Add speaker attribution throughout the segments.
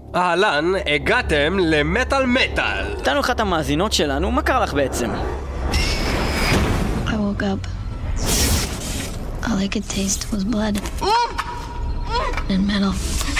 Speaker 1: אהלן, הגעתם למטל מטל.
Speaker 2: איתנו אחת המאזינות שלנו, מה קרה לך בעצם?
Speaker 3: I woke up. All I could taste was blood and metal.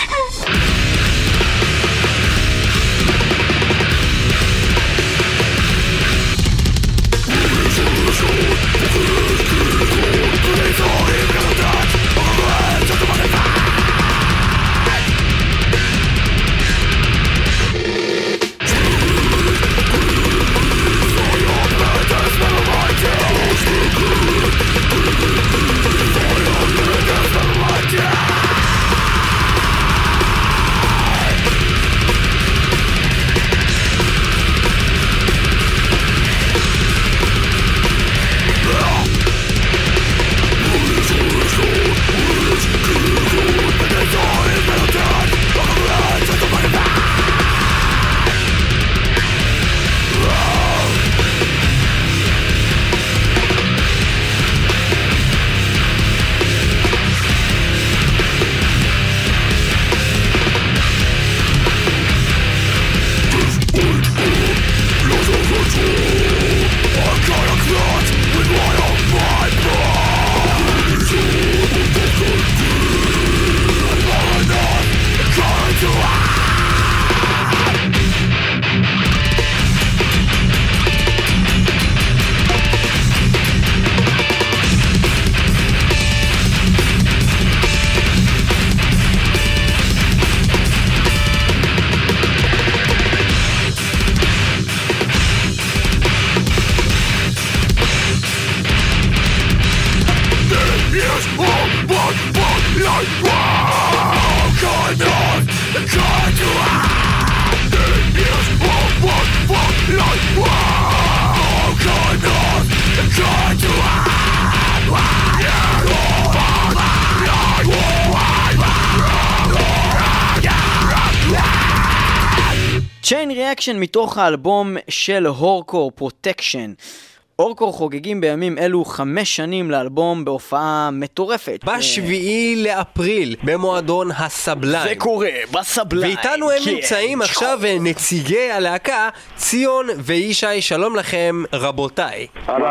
Speaker 2: Chain Reaction מתוך האלבום של הורקור פרוטקשן. הורקור חוגגים בימים אלו 5 שנים לאלבום בהופעה מטורפת.
Speaker 1: ב7 לאפריל במועדון הסבליים.
Speaker 2: זה קורה, בסבליים.
Speaker 1: ואיתנו הם נמצאים עכשיו נציגי הלהקה, ציון וישי. שלום לכם רבותיי.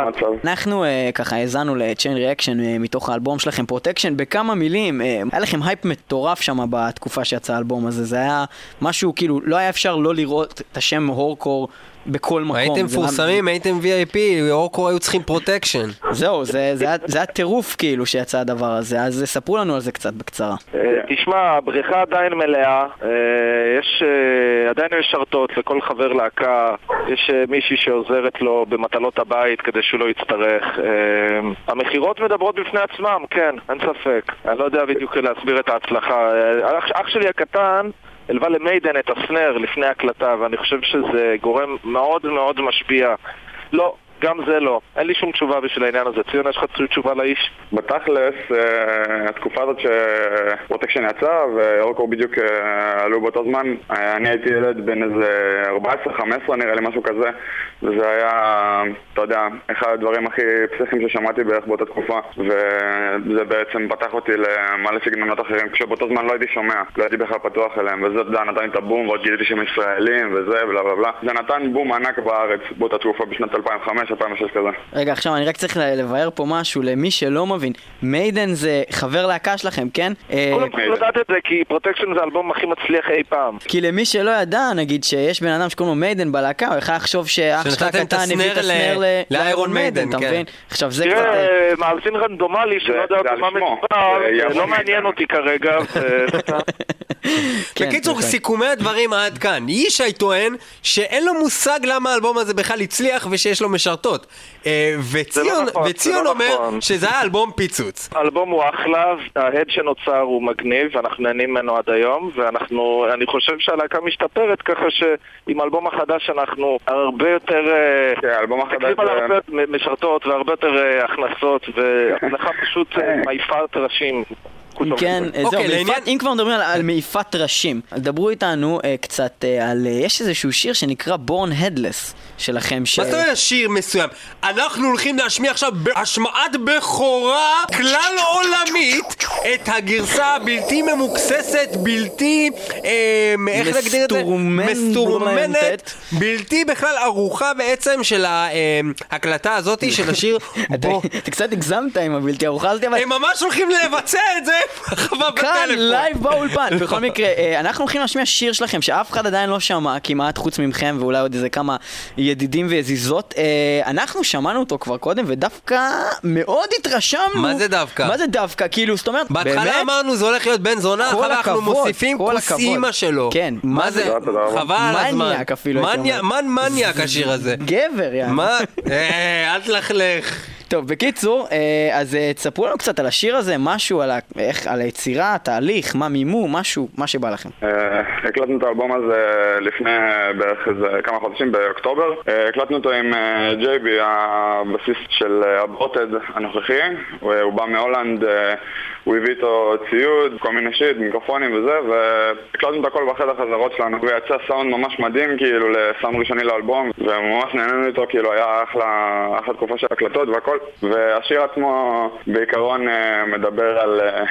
Speaker 2: אנחנו ככה הזנו ל-Chain Reaction מתוך האלבום שלכם פרוטקשן. בכמה מילים, היה לכם הייפ מטורף שם בתקופה שיצא האלבום הזה. זה היה משהו כאילו, לא היה אפשר לא לראות את השם הורקור בכל מקום.
Speaker 1: הייתם פורסמים, הייתם VIP, הורקור היו צריכים פרוטקשן.
Speaker 2: זהו, זה היה טירוף כאילו שיצא הדבר הזה, אז ספרו לנו על זה קצת בקצרה.
Speaker 4: תשמע, הבריכה עדיין מלאה, יש עדיין משרתות לכל חבר להקה, יש מישהי שעוזרת לו במטלות הבית כדי שהוא לא יצטרך. המחירות מדברות בפני עצמם, כן, אין ספק. אני לא יודע בדיוק להסביר את ההצלחה. אח שלי הקטן הלווה למיידן את הסנר לפני הקלטה, ואני חושב שזה גורם מאוד מאוד משפיע. לא, גם זה לא. אין לי שום תשובה בשביל העניין הזה. ציון, יש לך תשובה לאיש?
Speaker 5: בתכלס, התקופה הזאת שפרוטקשן יצא והורקור בדיוק עלו באותו זמן, אני הייתי ילד בין איזה 14-15 נראה לי משהו כזה, וזה היה, אתה יודע, אחד הדברים הכי פסיכיים ששמעתי בערך באותה תקופה, וזה בעצם פתח אותי למלא סגנונות אחרים, כשבאותו זמן לא הייתי שומע, לא הייתי בכלל פתוח אליהם, וזה נתן לי את הבום, ועוד גיליתי שהם ישראלים וזה בלה בלה בלה. זה נתן בום ענק בארץ באותה תקופה בשנת 2005-2006 כזה.
Speaker 2: רגע, עכשיו אני רק צריך לבאר פה משהו למי שלא מבין. מיידן זה חבר להקה שלכם, כן?
Speaker 4: כולם צריכים לדעת את זה, כי פרוטקשן זה האלבום הכי מצליח אי פעם.
Speaker 2: כי למי שלא ידע, נגיד שיש בן אדם שקוראים לו מיידן בלהקה, הוא יכול לחשוב שאח שלך הקטן הביא את הסנר לאיירון מיידן, אתה מבין? עכשיו זה קצת...
Speaker 4: תראה, מאזין רנדומלי שלא יודע במה מדובר, לא מעניין אותי כרגע.
Speaker 1: בקיצור, סיכומי הדברים עד כאן. ישי טוען שאין לו מושג למה האלבום הזה בכלל הצליח ושיש לו משרתות. וציון אומר שזה היה אלבום פיצוץ.
Speaker 4: האלבום הוא אחלה, ההד שנוצר הוא מגניב, אנחנו נהנים ממנו עד היום, ואני חושב שהלהקה משתפרת ככה שעם האלבום החדש אנחנו הרבה יותר תקליב על הרבה משרתות והרבה יותר הכנסות, והצלחה פשוט מעיפה תרשים.
Speaker 2: כן, זהו, אם כבר מדברים על מעיפת ראשים, דברו איתנו קצת על, יש איזשהו שיר שנקרא Born Headless שלכם.
Speaker 1: מה זאת אומרת שיר מסוים? אנחנו הולכים להשמיע עכשיו בהשמעת בכורה כלל עולמית את הגרסה הבלתי ממוקססת, בלתי, איך נגדיר את זה? מסתורמנת, בלתי בכלל ערוכה בעצם של ההקלטה הזאת של השיר.
Speaker 2: אתה קצת הגזמת עם הבלתי ערוכה הזאת, אבל
Speaker 1: הם ממש הולכים לבצע את זה
Speaker 2: כאן לייב באולפן. בכל מקרה, אנחנו הולכים להשמיע שיר שלכם שאף אחד עדיין לא שמע כמעט חוץ ממכם ואולי עוד איזה כמה ידידים ויזיזות. אנחנו שמענו אותו כבר קודם ודווקא מאוד התרשמנו.
Speaker 1: מה זה דווקא?
Speaker 2: מה זה דווקא? כאילו, זאת אומרת,
Speaker 1: בהתחלה אמרנו זה הולך להיות בן זונה, אחר אנחנו מוסיפים כוס אימא שלו.
Speaker 2: כן.
Speaker 1: מה זה? חבל על הזמן.
Speaker 2: מניאק אפילו.
Speaker 1: מניאק השיר הזה.
Speaker 2: גבר, יאללה.
Speaker 1: מה? אל תלכלך.
Speaker 2: טוב, בקיצור, אז תספרו לנו קצת על השיר הזה, משהו על היצירה, התהליך, מה מימו, משהו, מה שבא לכם.
Speaker 5: הקלטנו את האלבום הזה לפני בערך איזה כמה חודשים באוקטובר. הקלטנו אותו עם ג'ייבי, הבסיסט של הבוטד הנוכחי. הוא בא מהולנד, הוא הביא איתו ציוד, כל מיני שיט, מיקרופונים וזה, והקלטנו את הכל בחדר חזרות שלנו, ויצא סאונד ממש מדהים, כאילו, לסאונד ראשוני לאלבום, וממש נהנינו איתו, כאילו, היה אחלה תקופה של הקלטות והכל, והשיר עצמו בעיקרון מדבר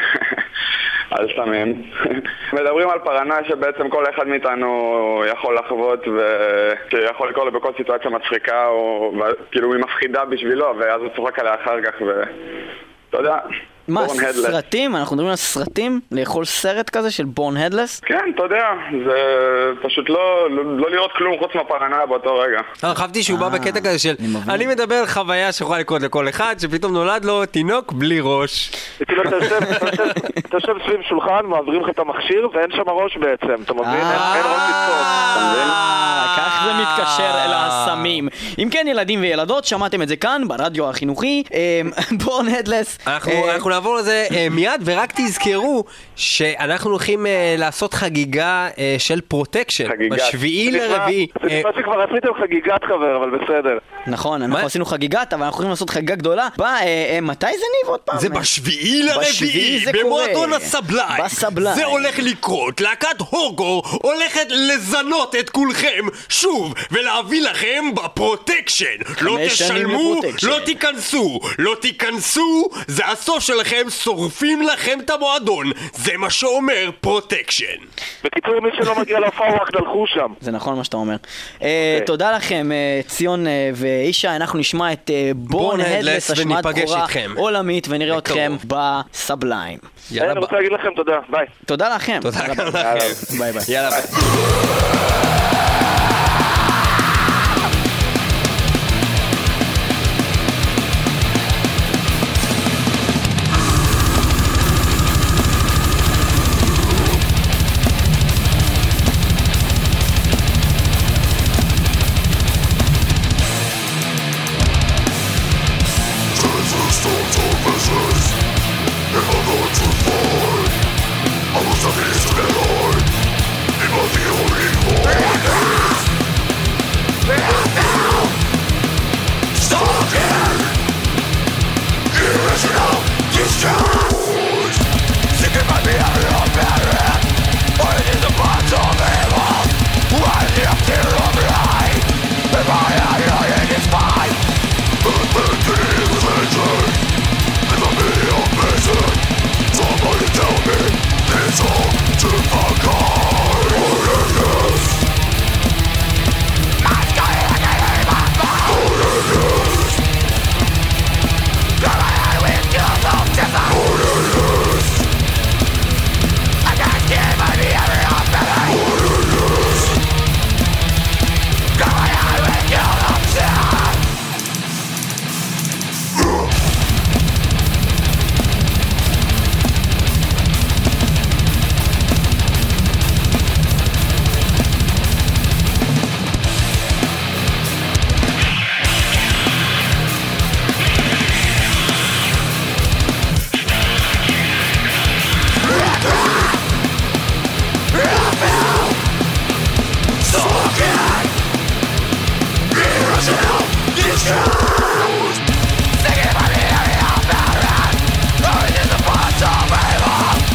Speaker 5: על סמים. מדברים על פרנויה שבעצם כל אחד מאיתנו יכול לחוות ושיכול לקרוא לו בכל סיטואציה מצחיקה, כאילו היא מפחידה בשבילו, ואז הוא צוחק עליה אחר כך, ואתה יודע...
Speaker 2: מה, סרטים? אנחנו מדברים על סרטים? לאכול סרט כזה של בורן הדלס?
Speaker 5: כן, אתה יודע, זה פשוט לא לראות כלום חוץ מהפרנויה באותו רגע.
Speaker 1: חשבתי שהוא בא בקטע כזה של אני מדבר על חוויה שיכולה לקרות לכל אחד, שפתאום נולד לו תינוק בלי ראש.
Speaker 4: אתה יושב סביב שולחן, מעבירים לך את המכשיר ואין שם ראש בעצם, אתה מבין? אין ראש לתפוס, אתה מבין?
Speaker 2: כך זה מתקשר אל הסמים. אם כן, ילדים וילדות, שמעתם את זה כאן ברדיו החינוכי, בורן הדלס.
Speaker 1: אנחנו נעבור לזה מיד, ורק תזכרו שאנחנו הולכים לעשות חגיגה של פרוטקשן בשביעי לרביעי.
Speaker 4: זה נשמע שכבר עשיתם חגיגת חבר, אבל בסדר.
Speaker 2: נכון, אנחנו עשינו חגיגת, אבל אנחנו הולכים לעשות חגיגה גדולה. מתי זה ניב עוד פעם?
Speaker 1: זה בשביעי לרביעי, במועדון הסבליים. זה הולך לקרות, להקת הוגו הולכת לזנות את כולכם שוב, ולהביא לכם בפרוטקשן. לא תשלמו, לא תיכנסו, זה הסוף שלכם, שורפים לכם את המועדון. זה מה שאומר פרוטקשן.
Speaker 4: בקיצור, מי שלא מגיע להופעה רק תלכו שם.
Speaker 2: זה נכון מה שאתה אומר. תודה לכם, ציון ואישה. אנחנו נשמע את בורן הדלס, השמעת בכורה עולמית, ונראה אתכם בסבליים.
Speaker 4: אני רוצה להגיד לכם תודה, ביי.
Speaker 2: תודה לכם.
Speaker 1: תודה לכם.
Speaker 2: ביי ביי.
Speaker 1: יאללה ביי. Singing by the area of Baron, who is the bunch of evil.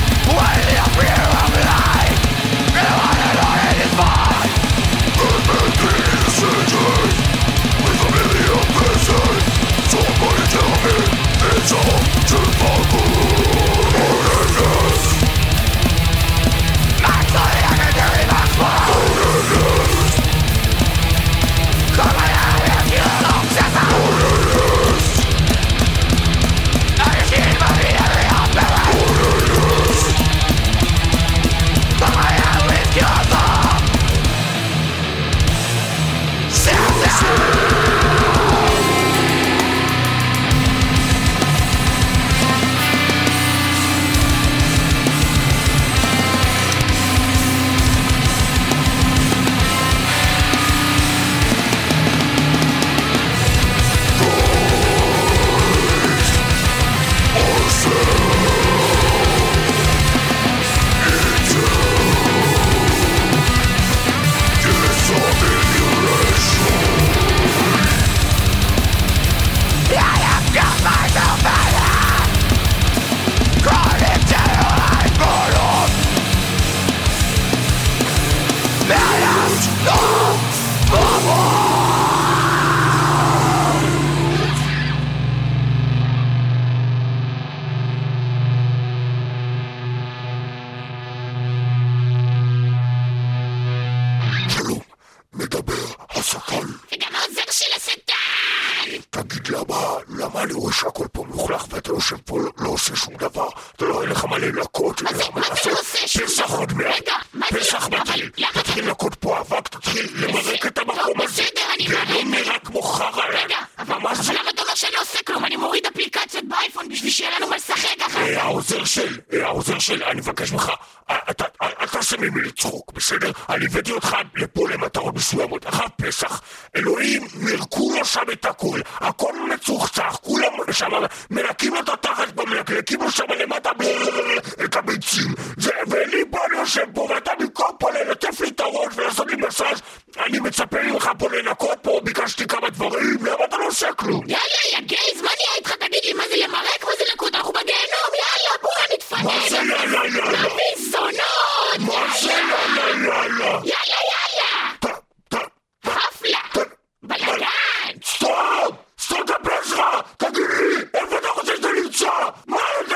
Speaker 6: תגיד למה אני רואה שהכל פה מלוכלך ואתה יושב פה לא עושה שום דבר, אתה לא אין לך מלא לקות, למה לעשות פסח עוד מעט, פסח מתחיל, תתחיל לקות פה אבק, תתחיל למרק את המקום הזה, ולא נראה כמו חרא.
Speaker 7: רגע, אבל למה אתה אומר שאני לא עושה כלום? אני מוריד אפליקציות באייפון בשביל שיהיה לנו מה לשחק אחר.
Speaker 6: העוזר של, אני מבקש ממך, אל תעשה ממי לצחוק, בסדר? אני הבאתי אותך לפה למטרות מסוימות, אחר פסח, אלוהים מרקו לו שם את הכל, הכל מצוחצח, כולם שם מנקים אותו תחת במלקלקים לו שם למטה את הביצים, ואלי פה אני יושב פה ואתה במקום פה ללטף לי את הראש ולעשות לי מסאז', אני מצפה ממך פה לנקות פה, ביקשתי כמה דברים, למה אתה לא עושה כלום?
Speaker 7: יאללה, יא גייז, מה נהיה איתך? תגיד לי, מה זה למרק? מה זה לקוד? אנחנו בגיהנום, יאללה, בוא נתפנן.
Speaker 6: מה זה יאללה?
Speaker 7: נביא זונות.
Speaker 6: מה זה יאללה?
Speaker 7: יאללה. חפלה. בלגן.
Speaker 6: סטופ את שלך, תגיד לי, איפה אתה חושב שאתה נמצא? מה אתה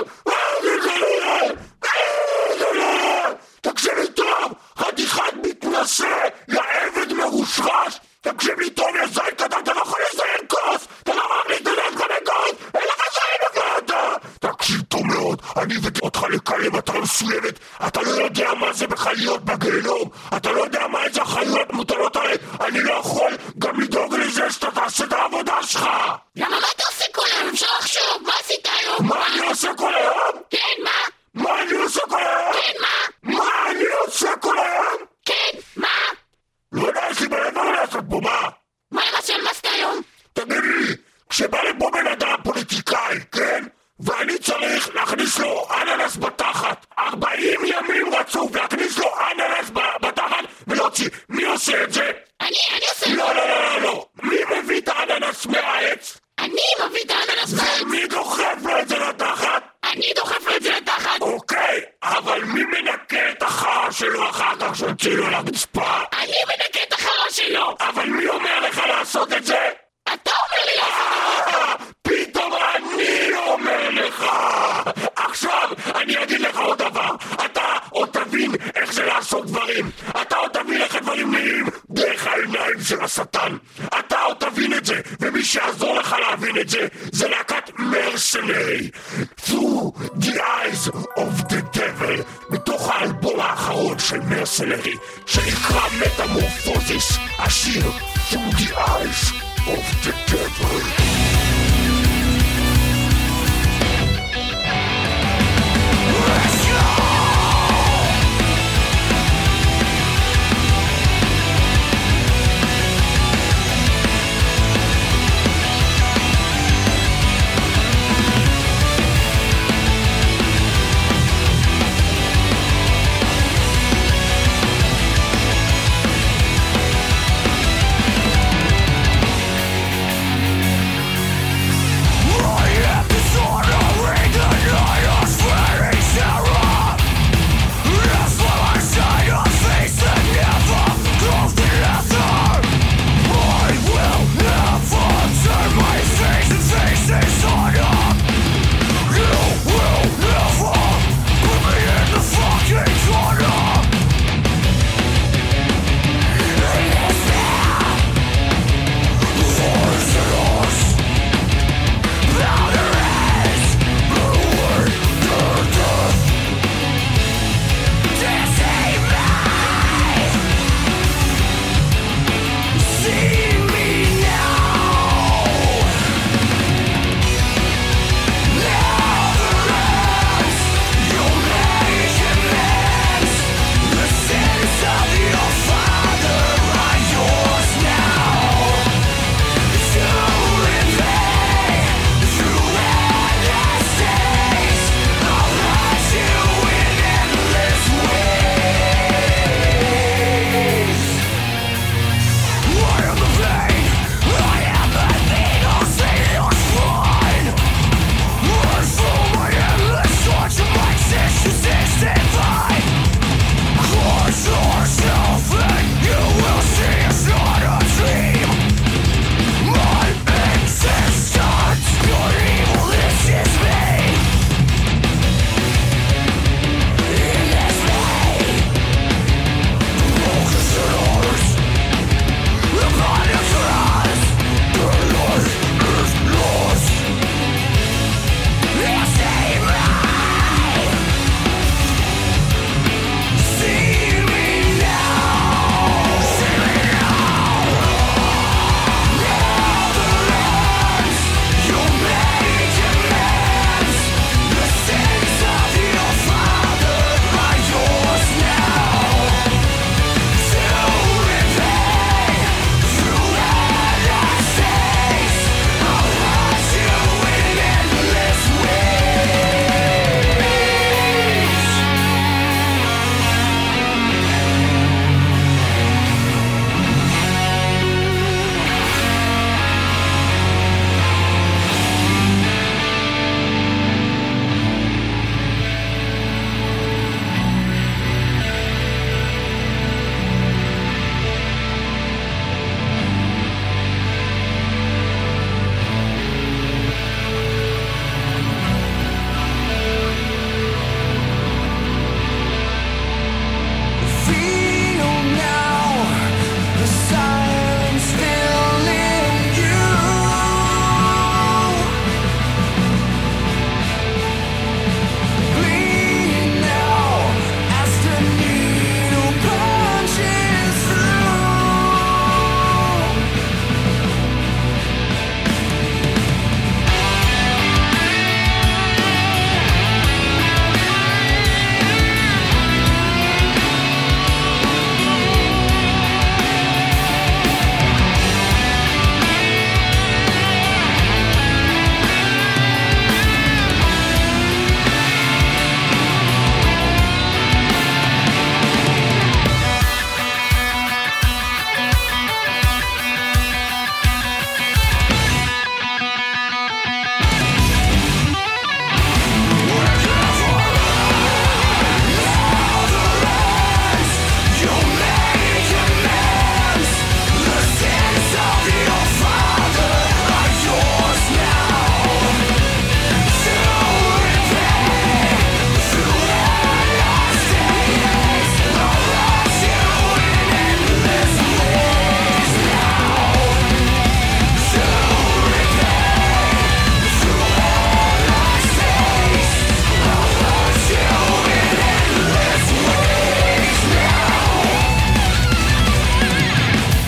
Speaker 6: תקשיב לי טוב, חתיכת מתנשא, לעבד מרושרש, תקשיב לי טוב, יא זין קטן, אתה לא יכול לזיין כוס, אתה לא יכול להתנדב גם בכוס, אין לך זין בגלדה. תקשיב טוב מאוד, אני הבאתי אותך לכאן למטרה מסוימת, אתה לא יודע מה זה בכלל להיות בגיהנום, אתה לא יודע מה איזה החיות מוטלות עליי, אני לא יכול גם לדאוג לזה שאתה תעשה את העבודה שלך.
Speaker 7: למה מה אתה עושה כל היום? אפשר לחשוב, מה עשית היום?
Speaker 6: מה אני עושה כל היום?
Speaker 7: כן, מה?
Speaker 6: מה אני עושה כל היום?
Speaker 7: כן, מה?
Speaker 6: מה אני עושה כל היום?
Speaker 7: כן, מה?
Speaker 6: לא יודע, יש לי בלבר לעשות פה, מה?
Speaker 7: מה למשל, מה עשית היום?
Speaker 6: תגיד לי, כשבא לפה בן אדם פוליטיקאי, כן? ואני צריך להכניס לו אננס בתחת 40 ימים רצוף, להכניס לו אננס בתחת ולהוציא, מי עושה את זה?
Speaker 7: אני עושה את זה.
Speaker 6: לא, מי מביא את האננס מהעץ?
Speaker 7: אני מביא את האננס מהעץ.
Speaker 6: ומי דוחף לו את זה לתחת?
Speaker 7: אני דוחף לו את זה לתחת.
Speaker 6: אוקיי, אבל מי מנקה את החרא שלו אחר כך שהוציא לו לרצפה?
Speaker 7: אני מנקה את החרא שלו.
Speaker 6: אבל מי אומר לך לעשות את זה?
Speaker 7: אתה אומר לי לעשות.
Speaker 6: פתאום אני אומר לך. עכשיו אני אגיד לך עוד דבר, אתה עוד תבין איך זה לעשות דברים, אתה עוד תבין איך הדברים נראים דרך העיניים של השטן, אתה עוד תבין את זה, ומי שיעזור לך להבין את זה זה להקת מרסנרי, Through the Eyes of the Devil, מתוך האלבום האחרון של מרסנרי שנקרא מטמורפוזיס, השיר Through the Eyes of the Devil.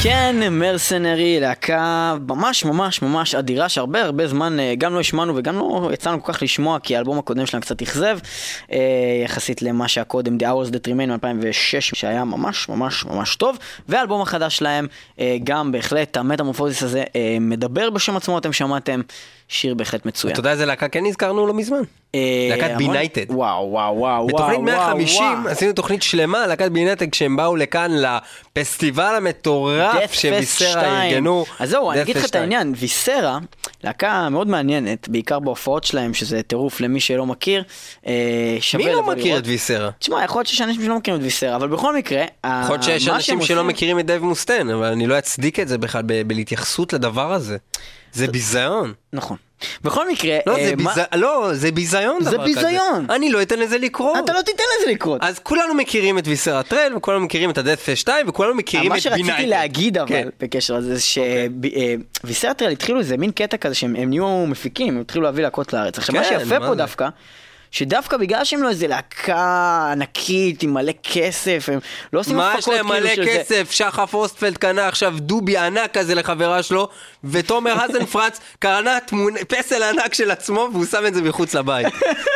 Speaker 2: כן, מרסנרי, להקה ממש ממש ממש אדירה שהרבה זמן גם לא השמענו וגם לא יצאנו כל כך לשמוע כי האלבום הקודם שלהם קצת אכזב יחסית למה שהקודם The Hours That Remain מ-2006 שהיה ממש ממש ממש טוב, והאלבום החדש שלהם גם בהחלט המטמורפוזיס הזה מדבר בשם עצמו, אתם שמעתם שיר בהחלט מצוין.
Speaker 1: אתה יודע איזה להקה כן נזכרנו לא מזמן? להקת בינייטד.
Speaker 2: וואו.
Speaker 1: בתוכנית 150 עשינו תוכנית שלמה, להקת בינייטד, כשהם באו לכאן לפסטיבל המטורף שוויסרה ארגנו.
Speaker 2: אז זהו, אני אגיד לך את העניין, ויסרה, להקה מאוד מעניינת, בעיקר בהופעות שלהם, שזה טירוף למי שלא מכיר.
Speaker 1: מי לא מכיר את ויסרה?
Speaker 2: תשמע, יכול להיות שיש אנשים שלא מכירים את ויסרה, אבל בכל מקרה,
Speaker 1: יכול להיות שיש אנשים שלא מכירים את דייב מוסטיין, אבל אני לא אצדיק את זה בכלל בהתייחסות לדבר הזה. זה ביזיון.
Speaker 2: נכון. בכל מקרה...
Speaker 1: זה ביזיון דבר כזה.
Speaker 2: זה ביזיון.
Speaker 1: אני לא אתן לזה לקרות.
Speaker 2: אתה לא תיתן לזה לקרות.
Speaker 1: אז כולנו מכירים את ויסרה טרל, וכולנו מכירים את הדאט פסט 2, וכולנו מכירים את בינייטד.
Speaker 2: מה שרציתי להגיד אבל, בקשר לזה, שוויסרה טרל התחילו איזה מין קטע כזה, שהם נהיו מפיקים, הם התחילו להביא להקות לארץ. עכשיו מה שיפה פה דווקא, שדווקא בגלל שהם לא איזה להקה ענקית עם מלא כסף, הם לא עושים הפקות כאילו של זה. מה יש להם מלא כסף?
Speaker 1: שחף אוסטפלד קנה עכשיו דובי ענק כזה לחברה שלו, ותומר הזנפרץ קרנה פסל ענק של עצמו, והוא שם את זה מחוץ לבית.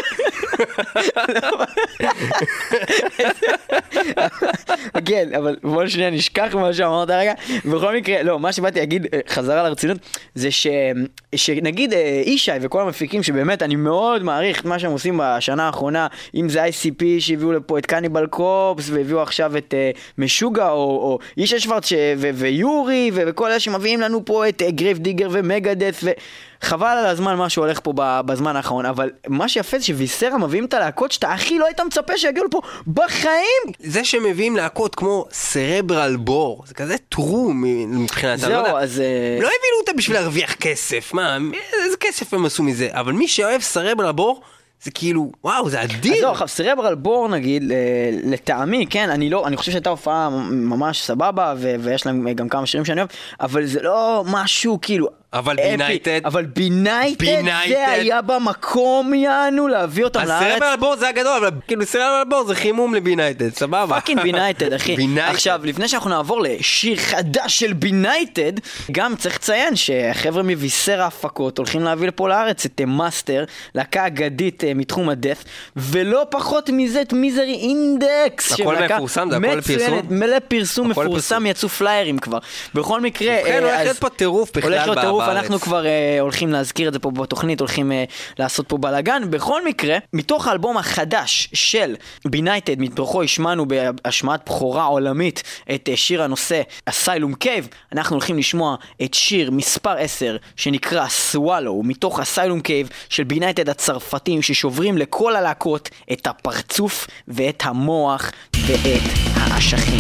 Speaker 2: כן, אבל בוא שנייה נשכח מה שאמרת רגע. בכל מקרה, לא, מה שבאתי להגיד חזרה לרצינות, זה שנגיד אישי וכל המפיקים שבאמת אני מאוד מעריך את מה שהם עושים בשנה האחרונה, אם זה ICP שהביאו לפה את קניבל קופס והביאו עכשיו את משוגע או אישה שוורץ ויורי וכל אלה שמביאים לנו פה את גרייב דיגר ומגדף חבל על הזמן מה שהולך פה בזמן האחרון, אבל מה שיפה זה שוויסרה מביאים את הלהקות שאתה הכי לא היית מצפה שיגיעו לפה בחיים.
Speaker 1: זה שמביאים להקות כמו סרברל בור, זה כזה טרום מבחינת,
Speaker 2: זהו, אז...
Speaker 1: לא הביאו אותה בשביל להרוויח כסף, מה, איזה כסף הם עשו מזה, אבל מי שאוהב סרברל בור, זה כאילו, וואו, זה אדיר.
Speaker 2: אז סרברל בור נגיד, לטעמי, כן, אני חושב שהייתה הופעה ממש סבבה, ויש להם גם כמה שירים שאני אוהב, אבל זה לא משהו כאילו...
Speaker 1: אבל בינייטד.
Speaker 2: אבל בינייטד זה היה במקום יענו להביא אותם לארץ.
Speaker 1: הסרברל בור זה הגדול, אבל כאילו סרברל בור זה חימום לבינייטד, סבבה.
Speaker 2: פאקינג בינייטד, אחי. עכשיו, לפני שאנחנו נעבור לשיר חדש של בינייטד, גם צריך לציין שהחבר'ה מוויסרה הפקות הולכים להביא לפה לארץ את מאסטר, להקה אגדית מתחום הדף, ולא פחות מזה את מיזרי אינדקס.
Speaker 1: הכל מפורסם, זה הכל פרסום.
Speaker 2: מלא פרסום מפורסם, יצאו פליירים כבר. בכל מקרה...
Speaker 1: הולך פה טירוף בכלל בארץ.
Speaker 2: אנחנו כבר הולכים להזכיר את זה פה בתוכנית, הולכים לעשות פה בלגן. בכל מקרה, מתוך האלבום החדש של בינייטד, מתוכו השמענו בהשמעת בחורה עולמית את שיר הנושא Asylum Cave, אנחנו הולכים לשמוע את שיר מספר 10 שנקרא Swallow, מתוך Asylum Cave של בינייטד הצרפתים ששוברים לכל הלהקות את הפרצוף ואת המוח ואת האשכים.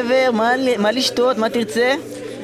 Speaker 2: גבר? מה לשתות? מה תרצה?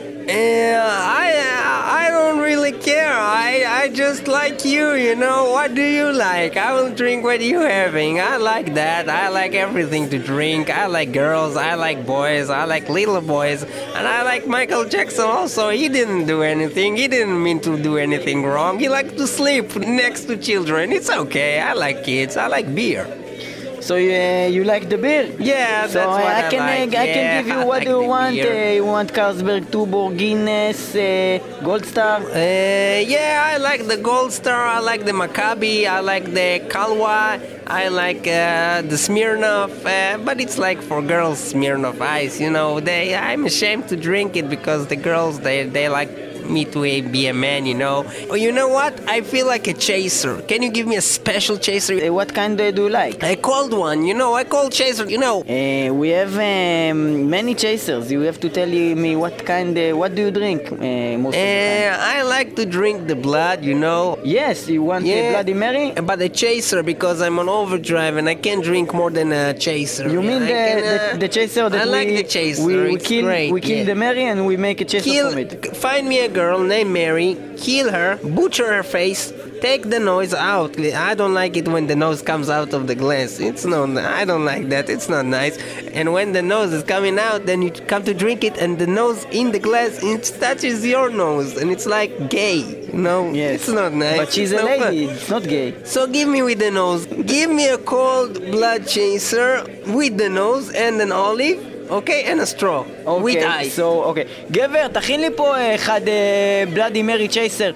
Speaker 8: I don't really care. I just like you know. What do you like? I will drink what you're having. I like that. I like everything to drink. I like girls. I like boys. I like little boys. And I like Michael Jackson also. He didn't do anything. He didn't mean to do anything wrong. He liked to sleep next to children. It's okay. I like kids. I like beer.
Speaker 2: So you like the beer?
Speaker 8: Yeah,
Speaker 2: so
Speaker 8: that's what I like.
Speaker 2: I can give you what you want. You want Carlsberg, Tuborg, Guinness, Gold Star?
Speaker 8: Yeah, I like the Gold Star. I like the Maccabi. I like the Kalwa. I like the Smirnoff. But it's like for girls, Smirnoff Ice. You know, I'm ashamed to drink it because the girls, they like me to be a man, you know. Oh, you know what? I feel like a chaser. Can you give me a special chaser?
Speaker 2: What kind do you like?
Speaker 8: A cold one, you know. I cold chaser, you know.
Speaker 2: We have many chasers. You have to tell me what kind. What do you drink most of the time?
Speaker 8: I like to drink the blood, you know.
Speaker 2: Yes, you want Bloody Mary?
Speaker 8: But a chaser because I'm on overdrive and I can't drink more than a chaser.
Speaker 2: You mean the chaser that
Speaker 8: I like the chaser.
Speaker 2: We kill the Mary and we make a chaser from it.
Speaker 8: Find me a girl named Mary, kill her, butcher her face, take the nose out. I don't like it when the nose comes out of the glass. I don't like that. It's not nice. And when the nose is coming out, then you come to drink it and the nose in the glass, it touches your nose and it's like gay. No,
Speaker 2: yes.
Speaker 8: It's not nice.
Speaker 2: But she's a lady. It's not gay.
Speaker 8: So give me with the nose. Give me a cold blood chaser with the nose and an olive. אוקיי, and a straw. with ice.
Speaker 2: So, אוקיי. גבר, תכין לי פה אחד בלאדי מרי צ'ייסר.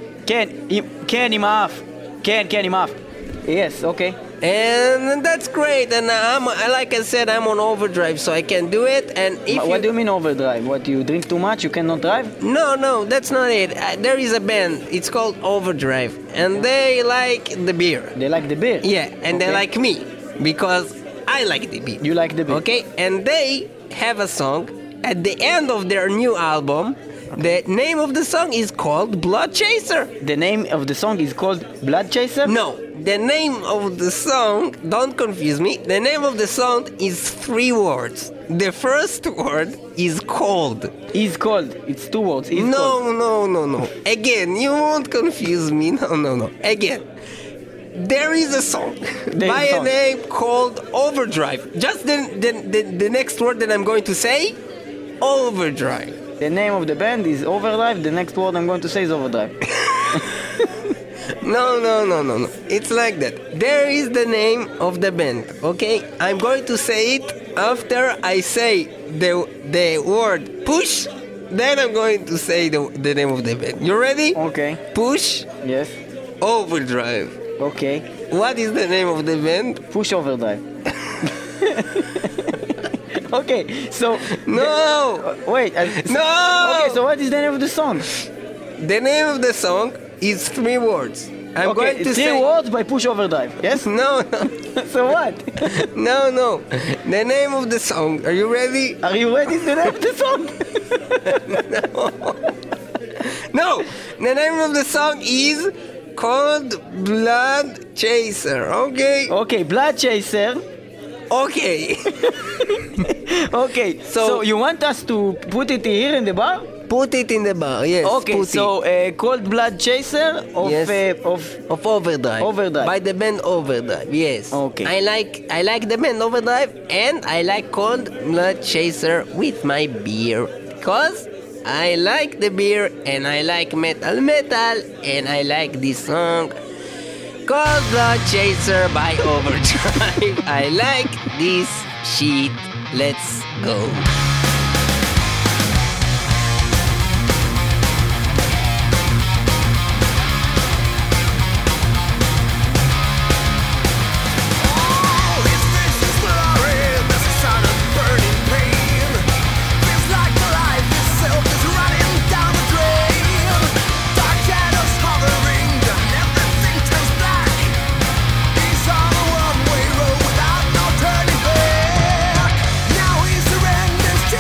Speaker 2: כן, עם האף. כן, עם האף. Yes, okay.
Speaker 8: And that's great. And like I said, I'm on overdrive, so I can do it. And
Speaker 2: what do you mean overdrive? What, you drink too much? You cannot drive?
Speaker 8: No, that's not it. There is a band. It's called Overdrive, and they like the beer.
Speaker 2: They like the beer?
Speaker 8: Yeah, and they like me because I like the beer.
Speaker 2: You like the beer?
Speaker 8: Okay, and they have a song at the end of their new album. The name of the song is called Blood Chaser.
Speaker 2: The name of the song is called Blood Chaser?
Speaker 8: No, the name of the song, don't confuse me, the name of the song is 3 words. The first word is cold.
Speaker 2: Is cold. It's 2 words.
Speaker 8: No. Again, you won't confuse me. No. Again. There is a song by a name called Overdrive. Just the next word that I'm going to say, Overdrive.
Speaker 2: The name of the band is Overdrive. The next word I'm going to say is Overdrive.
Speaker 8: No. It's like that. There is the name of the band, okay? I'm going to say it after I say the word push. Then I'm going to say the name of the band. You ready?
Speaker 2: Okay.
Speaker 8: Push.
Speaker 2: Yes.
Speaker 8: Overdrive.
Speaker 2: Okay.
Speaker 8: What is the name of the band?
Speaker 2: Push Overdrive. Okay, so...
Speaker 8: No!
Speaker 2: Wait.
Speaker 8: No!
Speaker 2: Okay, so what is the name of the song?
Speaker 8: The name of the song is 3 words. I'm going to say...
Speaker 2: 3 words by Push Overdrive, yes?
Speaker 8: No.
Speaker 2: So what?
Speaker 8: No. The name of the song. Are you ready?
Speaker 2: Are you ready to the name of the song?
Speaker 8: No. The name of the song is called Blood Chaser, okay?
Speaker 2: Okay, Blood Chaser.
Speaker 8: Okay.
Speaker 2: Okay, so you want us to put it here in the bar?
Speaker 8: Put it in the bar, yes.
Speaker 2: Okay, so called Blood Chaser
Speaker 8: of Overdrive.
Speaker 2: Overdrive.
Speaker 8: By the band Overdrive, yes.
Speaker 2: Okay.
Speaker 8: I like the band Overdrive and I like cold Blood Chaser with my beer. Because I like the beer and I like metal and I like this song. Cold Blood Chaser by Overdrive. I like this shit. Let's go.
Speaker 9: Now he surrenders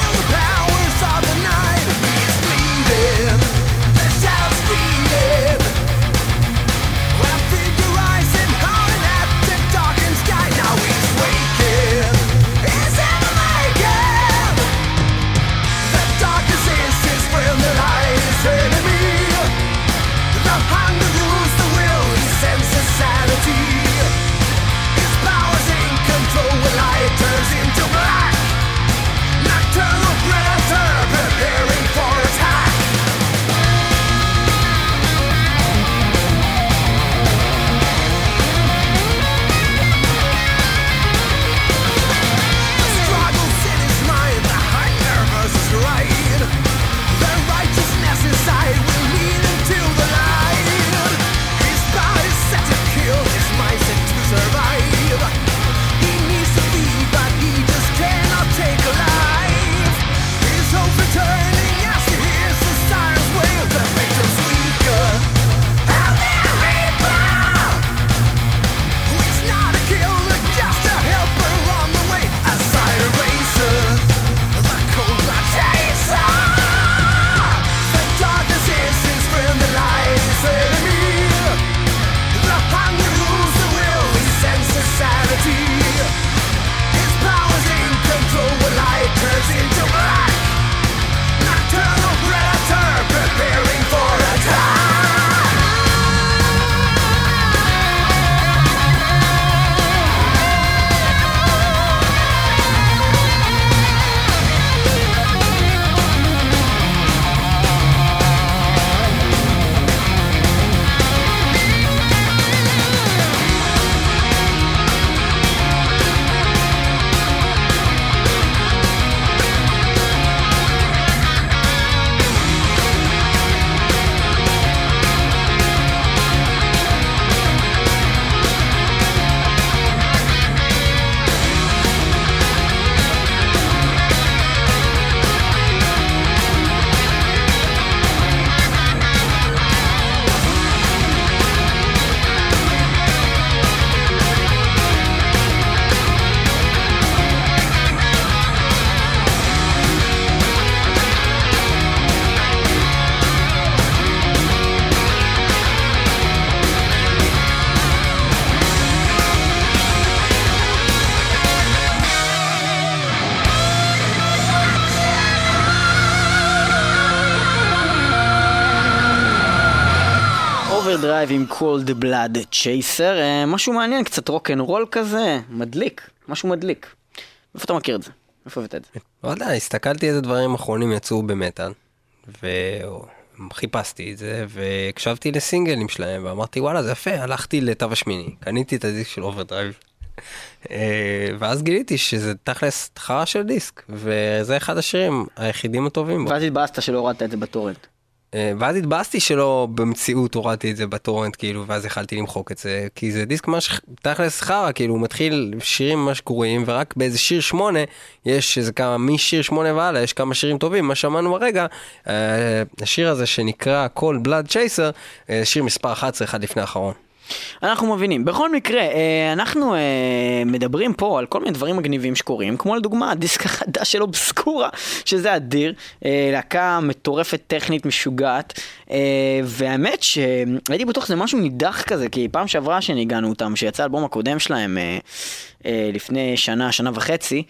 Speaker 2: אוברדרייב עם Cold Blood Chaser, משהו מעניין, קצת רוק-אנד-רול כזה, מדליק, משהו מדליק. איפה אתה מכיר את זה? איפה הבאת את זה?
Speaker 8: לא יודע, הסתכלתי איזה דברים אחרונים יצאו במטל, וחיפשתי את זה, והקשבתי לסינגלים שלהם, ואמרתי וואלה זה יפה, הלכתי לתו השמיני, קניתי את הדיסק של אוברדרייב, ואז גיליתי שזה תכלס חרא של דיסק, וזה אחד השירים היחידים הטובים בו.
Speaker 2: ואז התבאסת שלא הורדת את זה בטורנט.
Speaker 8: ואז התבאסתי שלא במציאות הורדתי את זה בטורנט, כאילו, ואז יכלתי למחוק את זה, כי זה דיסק ממש תכלס חרא, כאילו, הוא מתחיל שירים ממש גרועים, ורק באיזה שיר 8, יש איזה כמה, משיר 8 ועלה, יש כמה שירים טובים, מה שמענו הרגע, השיר הזה שנקרא Cold Blood Chaser, שיר מספר 11, אחד לפני האחרון.
Speaker 2: אנחנו מבינים. בכל מקרה, אנחנו מדברים פה על כל מיני דברים מגניבים שקורים, כמו לדוגמה, הדיסק החדש של אובסקורה, שזה אדיר, להקה מטורפת טכנית משוגעת, והאמת שהייתי בטוח שזה משהו נידח כזה, כי פעם שעברה שניגענו אותם, שיצא אלבום הקודם שלהם לפני שנה וחצי,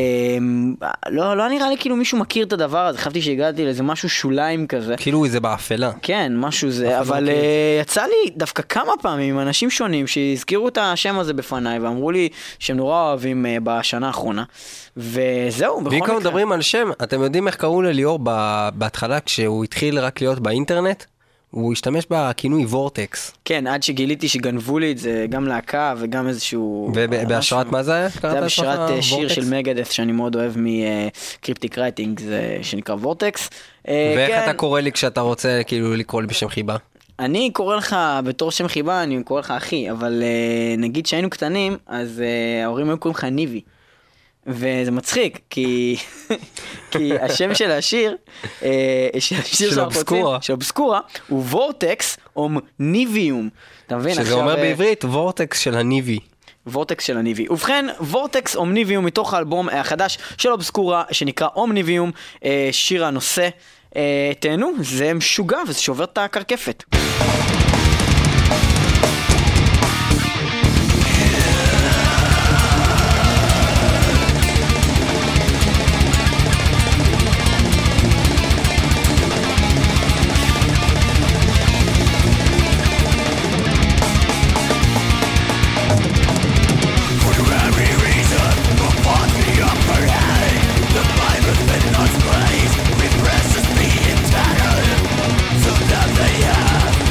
Speaker 2: לא נראה לי כאילו מישהו מכיר את הדבר הזה, חשבתי שהגעתי לאיזה משהו שוליים כזה.
Speaker 8: כאילו זה באפלה.
Speaker 2: כן, משהו זה, אבל יצא לי דווקא כמה פעמים עם אנשים שונים שהזכירו את השם הזה בפניי, ואמרו לי שהם נורא אוהבים בשנה האחרונה, וזהו, בכל מקרה.
Speaker 8: בעיקר מדברים על שם, אתם יודעים איך קראו לליאור בהתחלה כשהוא התחיל רק להיות באינטרנט? הוא השתמש בכינוי וורטקס.
Speaker 2: כן, עד שגיליתי שגנבו לי את זה גם להקה וגם איזשהו...
Speaker 8: ובהשראת מה זה היה?
Speaker 2: זה היה בהשראת שיר של מגדף שאני מאוד אוהב מקריפטיק רייטינג, שנקרא וורטקס.
Speaker 8: ואיך אתה קורא לי כשאתה רוצה כאילו לקרוא לי בשם חיבה?
Speaker 2: אני קורא לך בתור שם חיבה, אני קורא לך אחי, אבל נגיד שהיינו קטנים, אז ההורים היו קוראים לך ניבי. וזה מצחיק, כי השם של השיר, של אובסקורה, הוא וורטקס אומניביום.
Speaker 8: שזה אומר בעברית, וורטקס של הניבי.
Speaker 2: וורטקס של הניבי. ובכן, וורטקס אומניביום מתוך האלבום החדש של אובסקורה, שנקרא אומניביום, שיר הנושא. תהנו, זה משוגע וזה שובר את הקרקפת.
Speaker 6: Precious being tattered, so that they have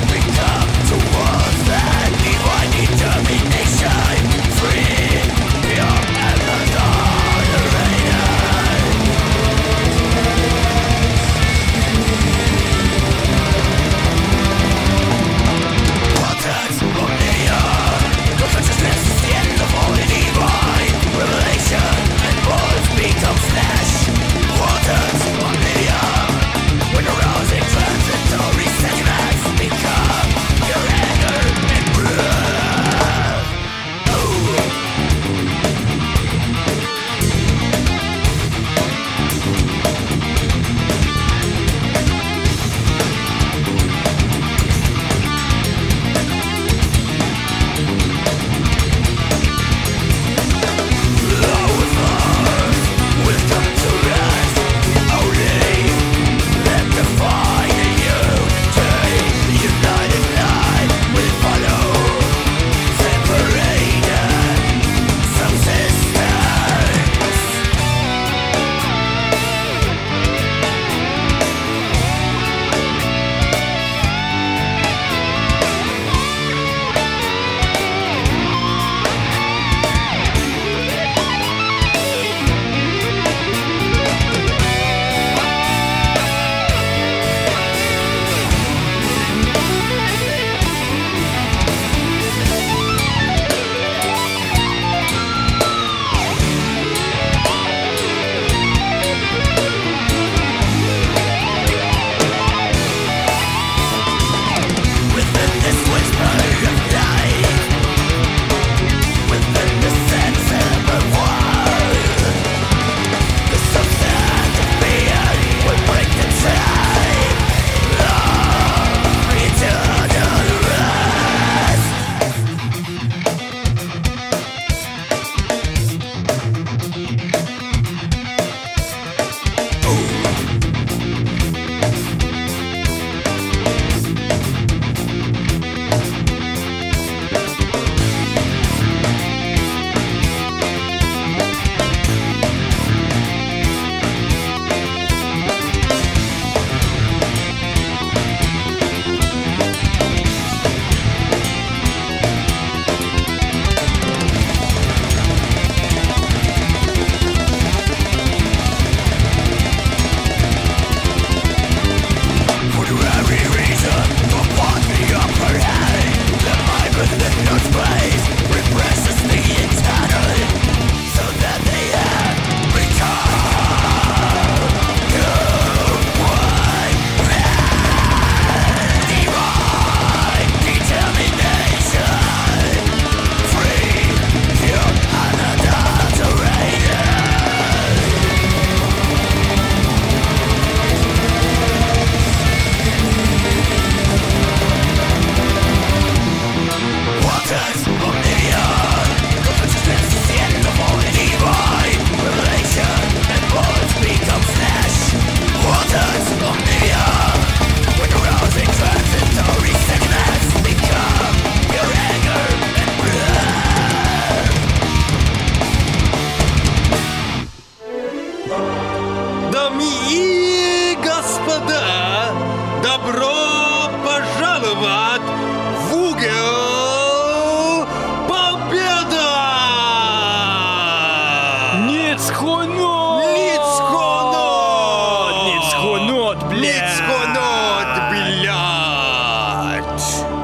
Speaker 1: גלגלצ.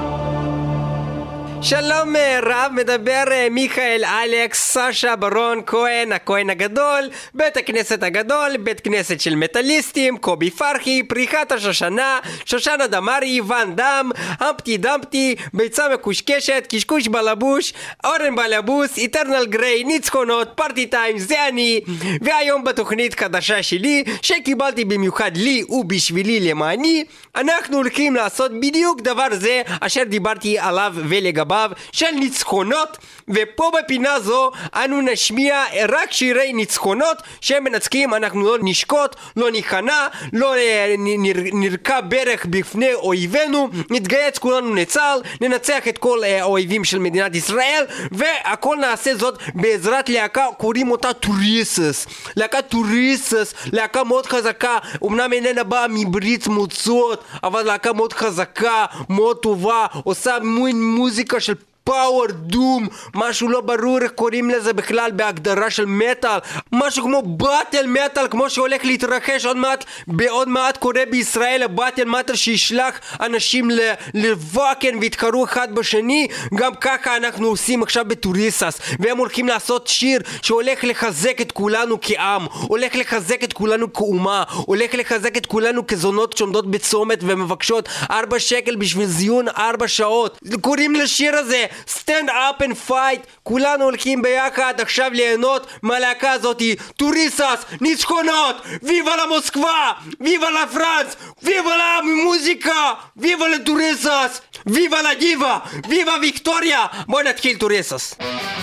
Speaker 8: שלום רב, מדבר מיכאל אלכס, סשה ברון כהן, הכהן הגדול, בית הכנסת הגדול, בית כנסת של מטליסטים, קובי פרחי, פריחת השושנה, שושנה דמרי, ואן דם, המפטי דמפטי, ביצה מקושקשת, קשקוש בלבוש, אורן בלבוס, איטרנל גריי, ניצחונות, פארטי טיים, זה אני. והיום בתוכנית חדשה שלי, שקיבלתי במיוחד לי ובשבילי למעני, אנחנו הולכים לעשות בדיוק דבר זה אשר דיברתי עליו ולגביו של ניצחונות, ופה בפינה זו אנו נשמיע רק שירי ניצחונות שמנצחים. אנחנו לא נשקוט, לא ניכנע, לא נרקע ברך בפני אויבינו, נתגייס כולנו לצה"ל, ננצח את כל האויבים של מדינת ישראל, והכל נעשה זאת בעזרת להקה, קוראים אותה טוריסס. להקה טוריסס, להקה מאוד חזקה, אמנם איננה באה מברית מועצות, אבל להקה מאוד חזקה, מאוד טובה, עושה מוזיקה של פאוור דום, משהו לא ברור איך קוראים לזה בכלל בהגדרה של מטל, משהו כמו באטל מטל, כמו שהולך להתרחש עוד מעט קורה בישראל, הבאטל מטל שישלח אנשים לבקן ויתקרו אחד בשני. גם ככה אנחנו עושים עכשיו בטוריסס, והם הולכים לעשות שיר שהולך לחזק את כולנו כעם, הולך לחזק את כולנו כאומה, הולך לחזק את כולנו כזונות שעומדות בצומת ומבקשות 4 שקל בשביל זיון 4 שעות. קוראים לשיר הזה Stand up and fight. כולנו הולכים ביחד עכשיו ליהנות מהלהקה הזאת. טוריסס, ניצחונות, ויבה למוסקבה, ויבה לפרנס, ויבה למוזיקה, ויבה לטוריסס, ויבה לדיבה, ויבה ויקטוריה. בוא נתחיל טוריסס.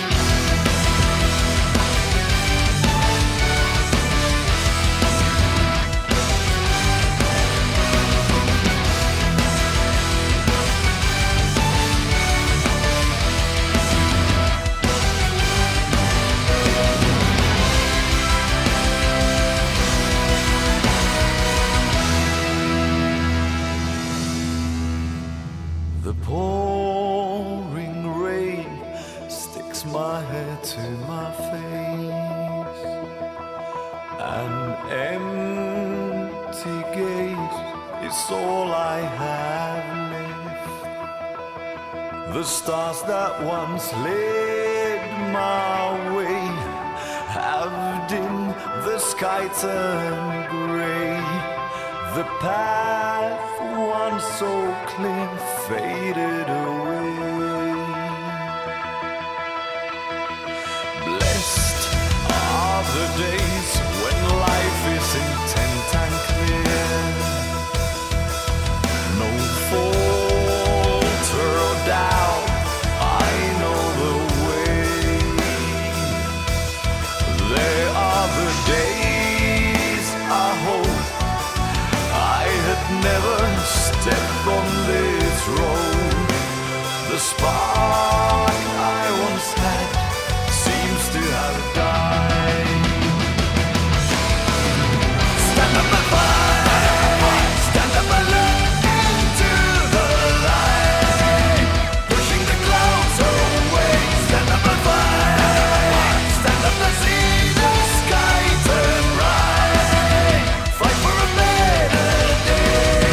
Speaker 9: Pouring rain sticks my head to my face. An empty gate is all I have left. The stars that once led my way have dimmed, the sky turned grey. The path once so clear faded away. Blessed are the days when life is intent and clear. No falter or doubt, I know the way. There are the days I hope I had never stepped on this road. The spark I once had seems to have died. Stand up and fight, stand up and look into the light, pushing the clouds away. Stand up and fight, stand up and see the sky turn bright. Fight for a better day.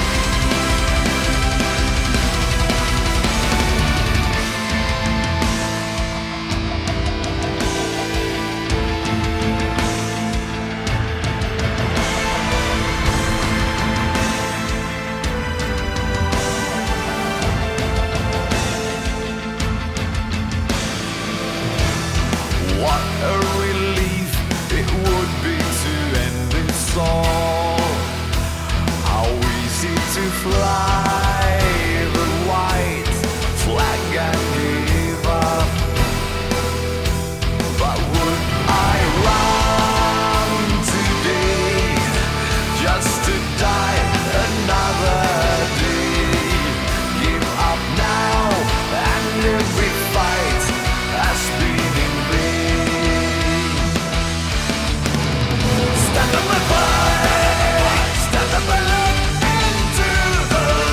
Speaker 9: What a relief it would be to end this all. How easy to fly the white flag and give up. But would I run today just to die another day? Give up now and every fight has been in vain. Stand up and fight, stand up and look into the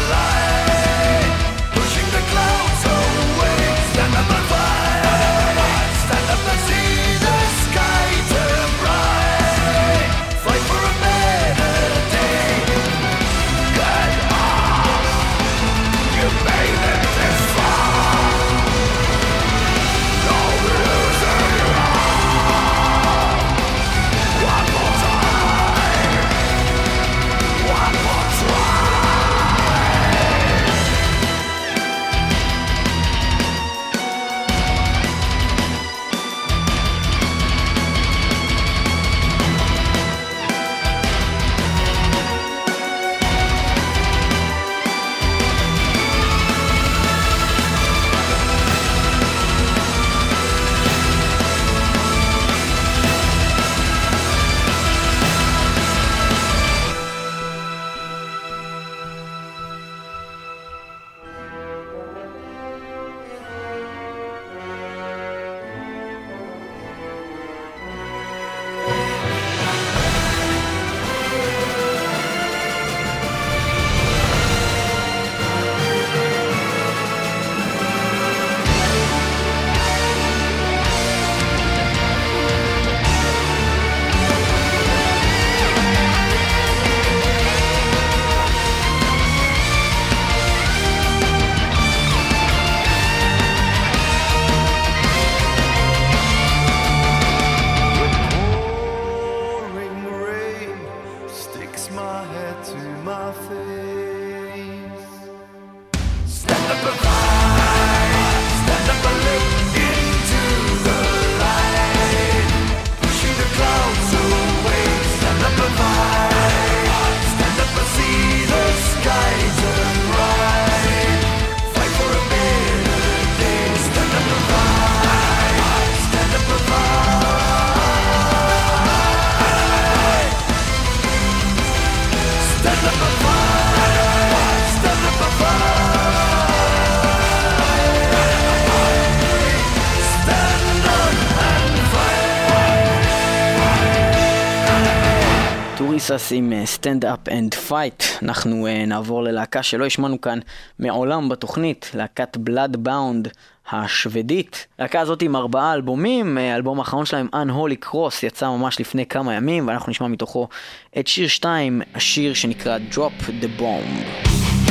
Speaker 2: קנסס עם Stand Up and Fight. אנחנו נעבור ללהקה שלא השמענו כאן מעולם בתוכנית, להקת Bloodbound השוודית. להקה הזאת עם 4 אלבומים, האלבום האחרון שלהם Unholy Cross יצא ממש לפני כמה ימים, ואנחנו נשמע מתוכו את שיר 2, השיר שנקרא Drop the Bomb.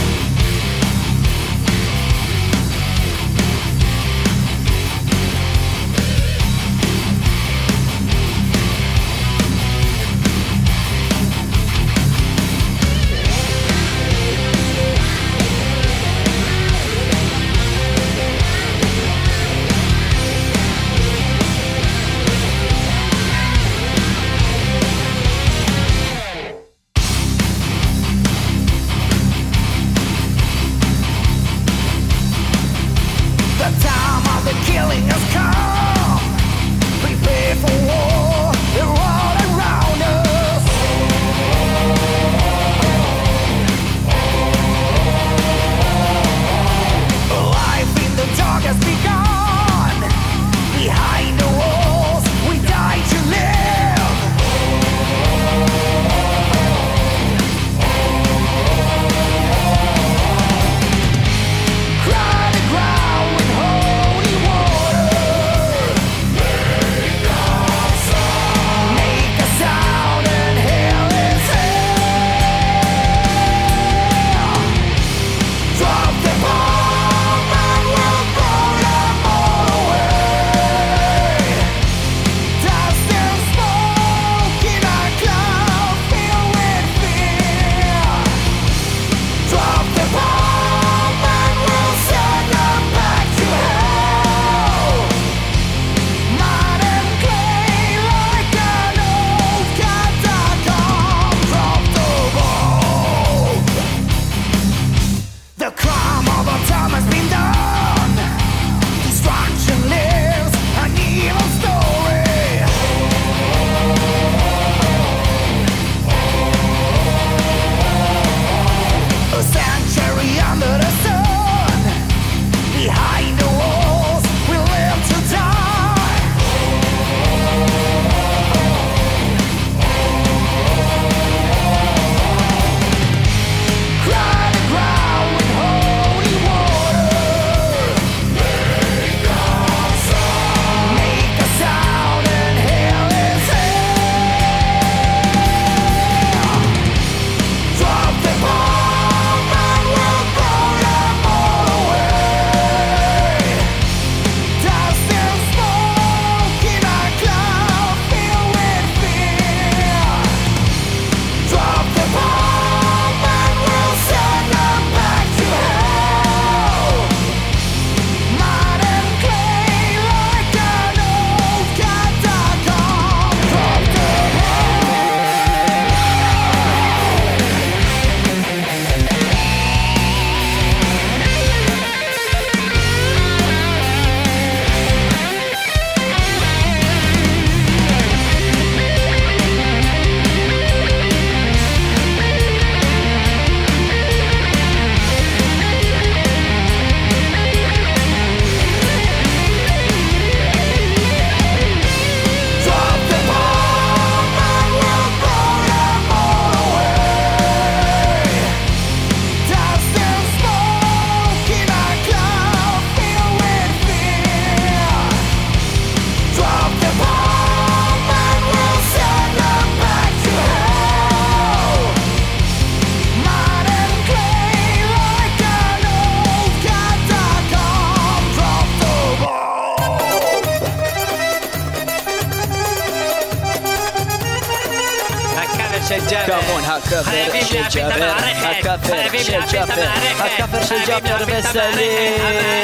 Speaker 2: הכפר של ג'אבר, הכפר של ג'אבר, הכפר של ג'אבר וסלים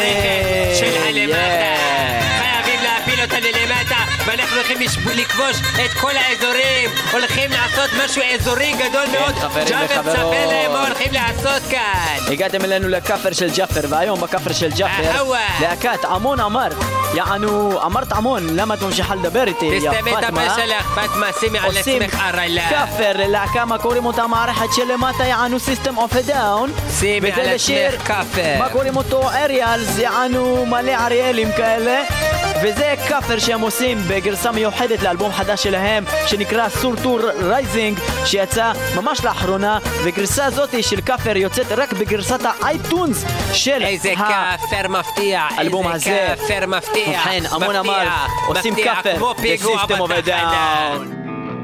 Speaker 8: של הלמטה. חייבים להפיל אותה ללמטה, ואנחנו הולכים לכבוש את כל האזורים. הולכים לעשות משהו אזורי גדול מאוד. ג'אבר תספר להם מה הולכים לעשות כאן.
Speaker 2: הגעתם אלינו לכפר של ג'אפר, והיום בכפר של ג'אפר להקת עמון אמרת, יענו אמרת עמון, למה את ממשיכה לדבר איתי יא
Speaker 8: פטמה? תסתמי את הפה שלך פטמה, שימי על עצמך ערלה.
Speaker 2: כפר להקה מה קוראים אותה מערכת שלמטה יענו סיסטם אוף דאון,
Speaker 8: שימי על עצמך כפר
Speaker 2: מה קוראים אותו אריאלס, יענו מלא אריאלים כאלה, וזה כפר שהם עושים בגרסה מיוחדת לאלבום חדש שלהם שנקרא סורטור רייזינג שיצא ממש לאחרונה, וגרסה הזאת של כפר יוצאת רק בגרסת האייטונס של
Speaker 8: איזה כפר מפתיע,
Speaker 2: האלבום הזה.
Speaker 8: כפר מפתיע,
Speaker 2: ובכן, המון אמר עושים כפר בסיסטם אוף א דאון.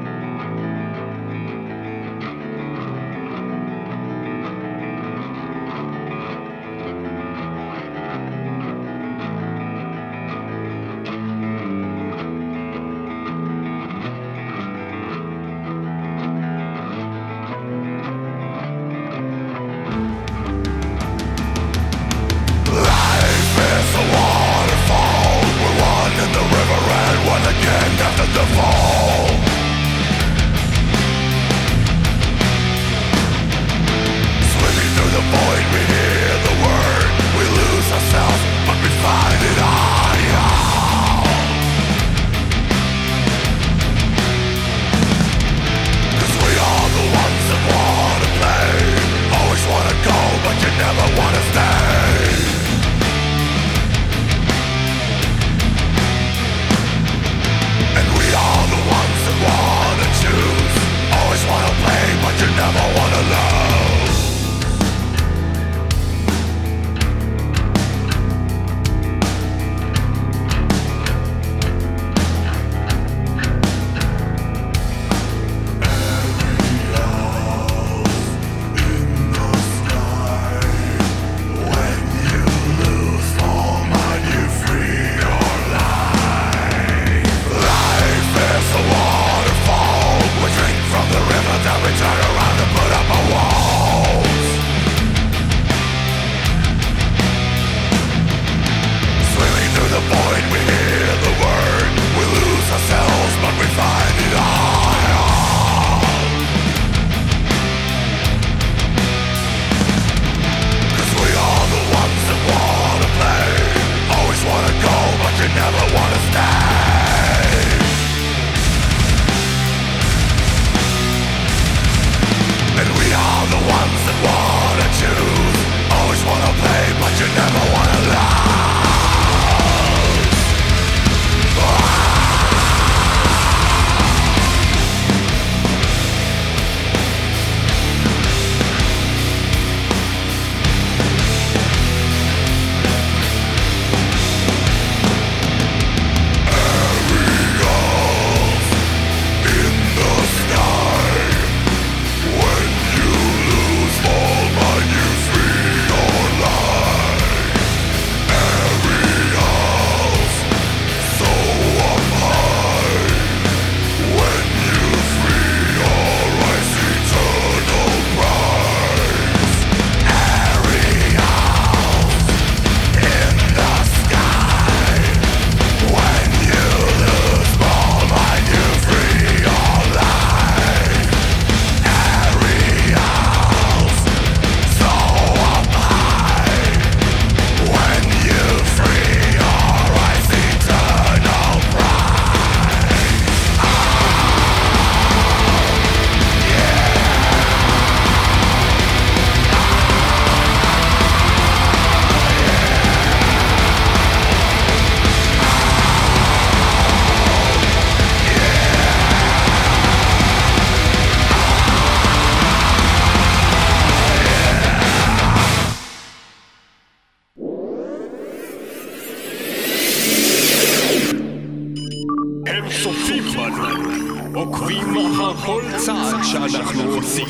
Speaker 1: כל צעד שאנחנו עושים.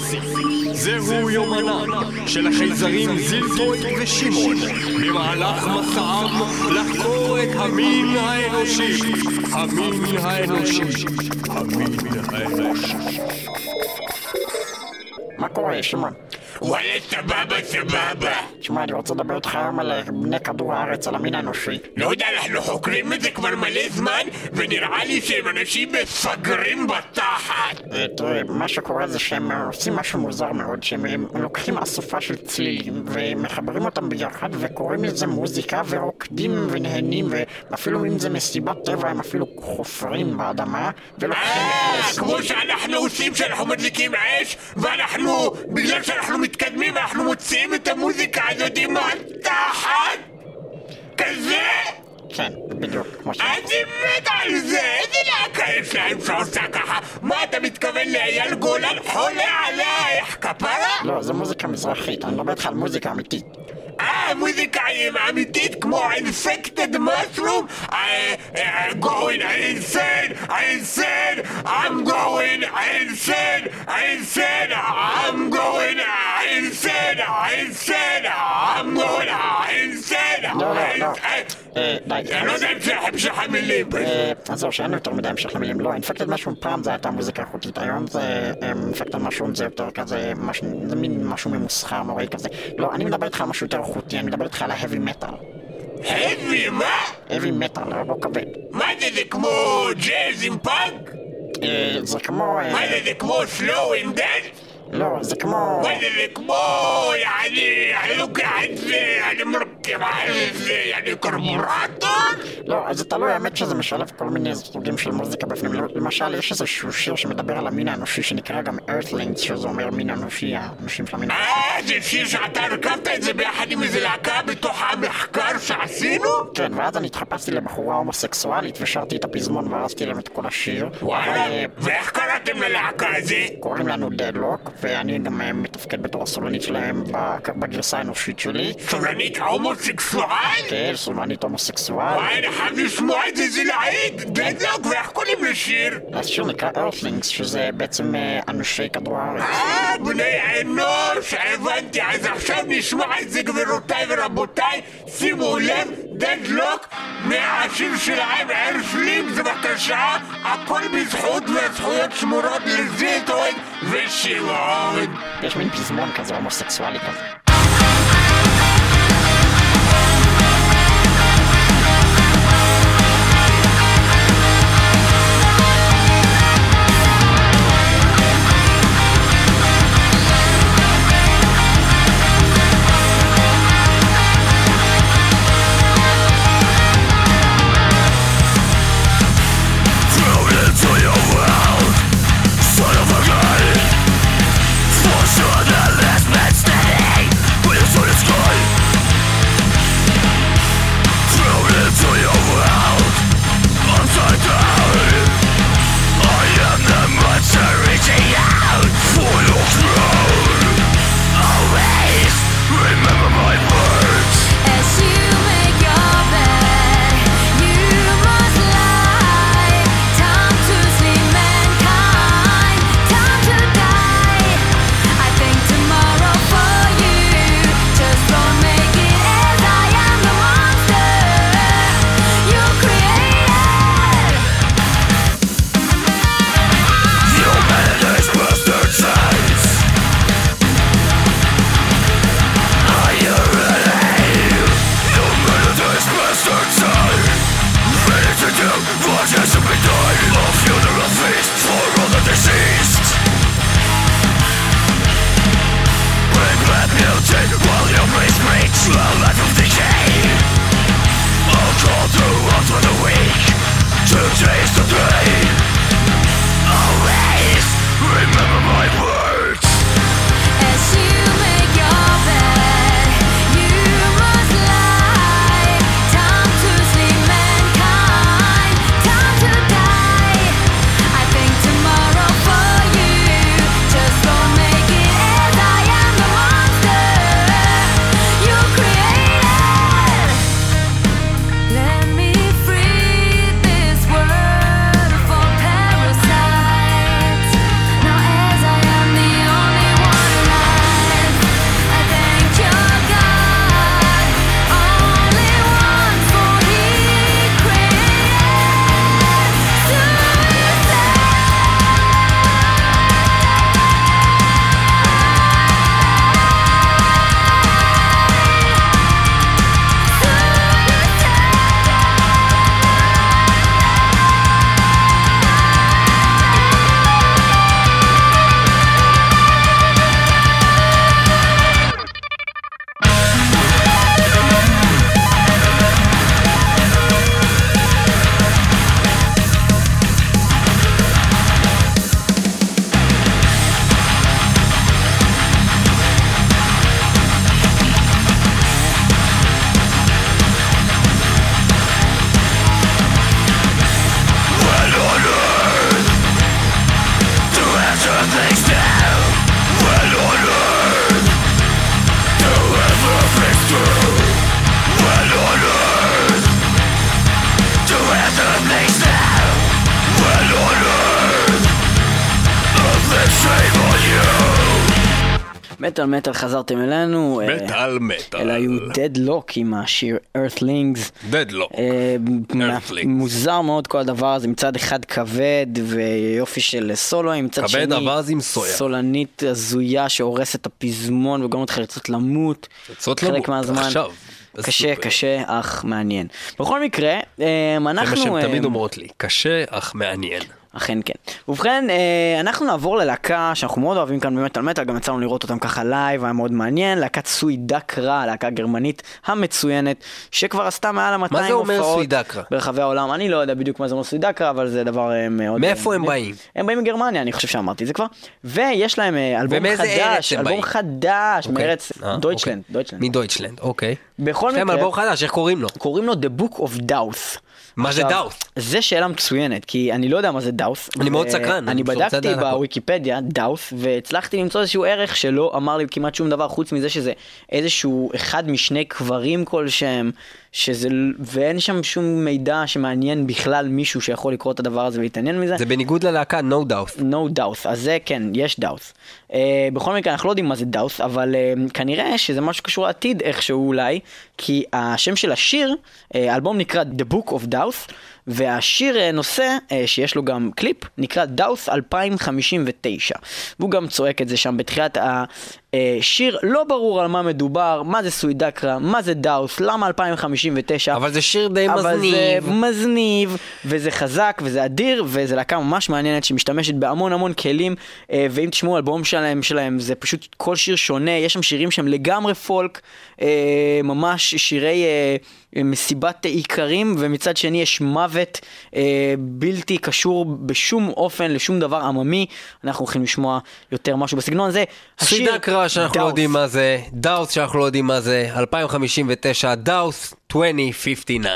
Speaker 1: זהו יומנה של החייזרים זילטוי ושמעון במהלך מסעם לחקור את המין האנושי. המין האנושי. המין האנושי.
Speaker 10: מה קורה, שמעון?
Speaker 6: וואלה, סבבה.
Speaker 10: תשמע, אני רוצה לדבר איתך היום על בני כדור הארץ, על המין האנושי.
Speaker 6: לא יודע, אנחנו חוקרים את זה כבר מלא זמן, ונראה לי שהם אנשים מפגרים בתחת.
Speaker 10: תראה, מה שקורה זה שהם עושים משהו מוזר מאוד, שהם לוקחים אסופה של צלילים, ומחברים אותם ביחד, וקוראים לזה מוזיקה, ורוקדים ונהנים, ואפילו אם זה מסיבת טבע, הם אפילו חופרים באדמה, ולוקחים...
Speaker 6: כמו שאנחנו עושים שאנחנו מדליקים אש, ואנחנו, בגלל שאנחנו מתקדמים, אנחנו מוציאים את המוזיקה הזאת מהתחת! כזה?
Speaker 10: כן, בדיוק.
Speaker 6: אני מת על זה! איזה להקה יש להם שעושה ככה? מה אתה מתכוון לאייל גולן חולה עלייך, כפרה?
Speaker 10: לא, זה מוזיקה מזרחית, אני מדבר איתך על מוזיקה אמיתית.
Speaker 6: מוזיקה אמיתית כמו infected mushroom going insane I'm going insane I'm going insane I'm going insane אני לא יודע המשך המילים
Speaker 10: אז זהו, שאין יותר מדי המשך המילים. לא, infected mushroom פעם זה הייתה מוזיקה איכותית, היום זה infected mushroom זה יותר כזה, זה מין משהו ממוסחר נוראי כזה. לא, אני מדבר איתך על משהו יותר איכותי, אני מדבר איתך על ההאבי מטל.
Speaker 6: האבי מה?
Speaker 10: האבי מטל, לא כבד.
Speaker 6: מה זה כמו ג'אז עם פאנק?
Speaker 10: זה כמו...
Speaker 6: מה זה כמו slow and dance?
Speaker 10: לא, זה כמו...
Speaker 6: מה זה כמו... אני לוקח את זה, אני מרכב על זה, אני קרבורטור?
Speaker 10: לא, אז אתה לא האמת שזה משלב כל מיני סוגים של מוזיקה בפנים. למשל, יש איזשהו שיר שמדבר על המין האנושי שנקרא גם Earthlings, שזה אומר מין אנושי, האנושים של המין האנושי.
Speaker 6: זה שיר שאתה הרכבת את זה ביחד עם איזה להקה בתוך המחקר שעשינו?
Speaker 10: כן, ואז אני התחפשתי לבחורה הומוסקסואלית ושרתי את הפזמון והרסתי להם את כל השיר.
Speaker 6: וואלה, ואיך קראתם ללהקה הזה?
Speaker 10: קוראים לנו Deadlock, ואני גם מתפקד בתור הסולנית שלהם בגרסה האנושית שלי.
Speaker 6: סולנית הומוסקסואל?
Speaker 10: כן, סולנית הומוסקסואל.
Speaker 6: וואי, אני חייב לשמוע את זה, זה להיט. Deadlock, ואיך קוראים לשיר?
Speaker 10: השיר נקרא Earthlings, שזה בעצם אנושי כדור הארץ.
Speaker 6: בני אנוש, הבנתי. אז עכשיו נשמע את זה, גבירותיי ורבותיי. שימו לב, Deadlock, מהשיר שלהם, Earthlings, בבקשה. הכל בזכות והזכויות שמורות לזיטון ושמעון.
Speaker 10: יש מין פזמון כזה הומוסקסואלי כזה.
Speaker 9: Sure, the last man standing
Speaker 2: מטל חזרתם אלינו.
Speaker 1: מטל.
Speaker 2: אלה היו Deadlock עם השיר Earthlings.
Speaker 1: Deadlock.
Speaker 2: מוזר מאוד כל הדבר הזה, מצד אחד כבד ויופי של סולואים, מצד שני סולנית הזויה שהורסת את הפזמון וגם אותך לרצות למות חלק מהזמן. קשה אך מעניין. בכל מקרה, אנחנו...
Speaker 1: זה מה שהן תמיד אומרות לי, קשה אך מעניין.
Speaker 2: אכן כן. ובכן, אנחנו נעבור ללהקה שאנחנו מאוד אוהבים כאן במטל, גם יצאנו לראות אותם ככה לייב, היה מאוד מעניין, להקת סוידקרה, להקה גרמנית המצוינת, שכבר עשתה מעל 200
Speaker 1: הופעות. מה זה אומר סוידקרה?
Speaker 2: ברחבי העולם. אני לא יודע בדיוק מה זה אומר סוידקרה, אבל זה דבר מאוד...
Speaker 1: מאיפה הם באים?
Speaker 2: הם באים מגרמניה, אני חושב שאמרתי את זה כבר. ויש להם אלבום חדש, מארץ דויטשלנד.
Speaker 1: מדויטשלנד, אוקיי.
Speaker 2: בכל מקרה...
Speaker 1: אלבום חדש, איך קוראים לו?
Speaker 2: קוראים לו The Book of Doubt.
Speaker 1: מה זה דאוס?
Speaker 2: זה שאלה מצוינת, כי אני לא יודע מה זה דאוס.
Speaker 1: אני מאוד סקרן.
Speaker 2: אני בדקתי בוויקיפדיה, דאוס, והצלחתי למצוא איזשהו ערך שלא אמר לי כמעט שום דבר, חוץ מזה שזה איזשהו אחד משני קברים כלשהם, ואין שם שום מידע שמעניין בכלל מישהו שיכול לקרוא את הדבר הזה ולהתעניין מזה.
Speaker 1: זה בניגוד ללהקה, no doubt.
Speaker 2: no doubt, אז זה כן, יש דאוס. בכל מקרה, אנחנו לא יודעים מה זה דאוס, אבל כנראה שזה משהו קשור לעתיד איכשהו אולי, כי השם של השיר, האלבום נקרא The Book of Doubt, והשיר נושא, שיש לו גם קליפ, נקרא דאוס 2059. והוא גם צועק את זה שם בתחילת השיר, לא ברור על מה מדובר, מה זה סוידקרה, מה זה דאוס, למה 2059.
Speaker 1: אבל זה שיר די מזניב.
Speaker 2: אבל זה מזניב, וזה חזק, וזה אדיר, וזה להקה ממש מעניינת שמשתמשת בהמון כלים, ואם תשמעו אלבום שלהם, זה פשוט כל שיר שונה, יש שם שירים שהם לגמרי פולק, ממש שירי מסיבת עיקרים, ומצד שני יש מוות בלתי קשור בשום אופן לשום דבר עממי. אנחנו הולכים לשמוע יותר משהו בסגנון הזה.
Speaker 1: סוידקרה שאנחנו לא יודעים מה זה, דאוס שאנחנו לא יודעים מה זה, 2059, דאוס 2059.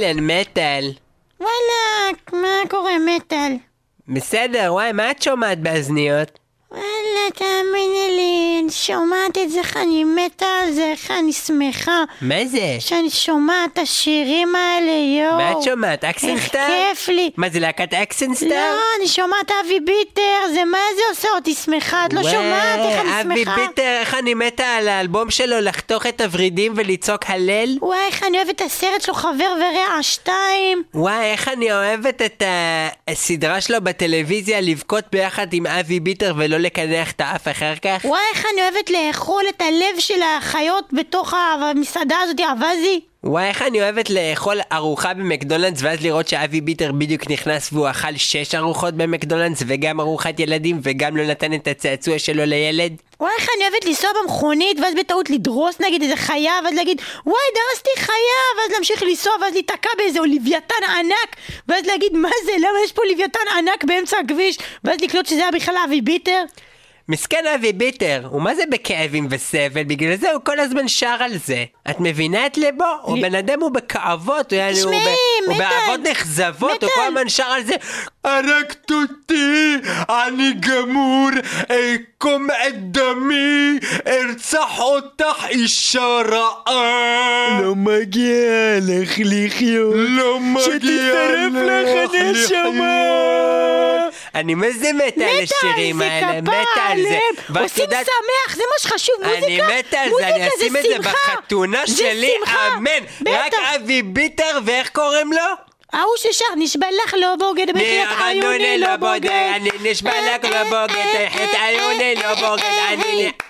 Speaker 8: כן, מטל.
Speaker 10: וואלה, מה קורה מטל?
Speaker 8: בסדר, וואי, מה את שומעת באזניות?
Speaker 10: וואלה, תאמיני לי, אני שומעת את זה, איך אני מתה על זה, איך אני שמחה.
Speaker 8: מה זה?
Speaker 10: שאני שומעת את השירים האלה, יואו.
Speaker 8: מה את שומעת? אקסנסטאר?
Speaker 10: איך כיף לי.
Speaker 8: מה זה, להקת אקסנסטאר?
Speaker 10: לא, אני שומעת אבי ביטר, זה מה זה עושה אותי שמחה, את לא שומעת איך אני שמחה?
Speaker 8: אבי ביטר, איך אני מתה על האלבום שלו לחתוך את הוורידים ולצעוק הלל?
Speaker 10: וואי, איך אני אוהבת את הסרט שלו, חבר ורע 2.
Speaker 8: וואי, איך אני אוהבת את הסדרה שלו בטלוויזיה לבכות ביחד עם אבי ביטר ולא לקנח את האף אחר כך.
Speaker 10: וואי, איך אני אוהבת לאכול את הלב של החיות בתוך המסעדה הזאת, אבזי.
Speaker 8: וואי, איך אני אוהבת לאכול ארוחה במקדונלדס ואז לראות שאבי ביטר בדיוק נכנס והוא אכל 6 ארוחות במקדונלדס וגם ארוחת ילדים וגם לא נתן את הצעצוע שלו לילד.
Speaker 10: וואי, איך אני אוהבת לנסוע במכונית ואז בטעות לדרוס נגיד איזה חיה ואז להגיד וואי, דרסתי חיה ואז להמשיך לנסוע ואז להתעקע באיזה לוויתן ענק ואז להגיד מה זה, למה יש פה לוויתן ענק באמצע הכביש ואז לקלוט שזה היה בכלל אבי ביטר.
Speaker 8: מסכן אבי ביטר, ומה זה בכאבים וסבל? בגלל זה הוא כל הזמן שר על זה. את מבינה את ליבו? הוא בן אדם, הוא בכאבות, הוא באהבות נחזבות, הוא כל הזמן שר על זה.
Speaker 1: הרגת אותי, אני גמור, אקום את דמי, ארצח אותך אישה רעה.
Speaker 2: לא מגיע לך לחיות,
Speaker 1: לא מגיע
Speaker 2: שתצטרף לך נשמה.
Speaker 8: אני מזה מתה על השירים האלה, מתה על זה.
Speaker 10: עושים שמח, זה מה שחשוב, מוזיקה.
Speaker 8: אני מתה על זה, אני אשים את זה בחתונה שלי, אמן. רק אבי ביטר, ואיך קוראים לו?
Speaker 10: ההוא ששר, נשבע לך לא בוגד, בחייאת עיוני לא בוגד.
Speaker 8: אני נשבע לך לא בוגד, בחייאת עיוני לא בוגד.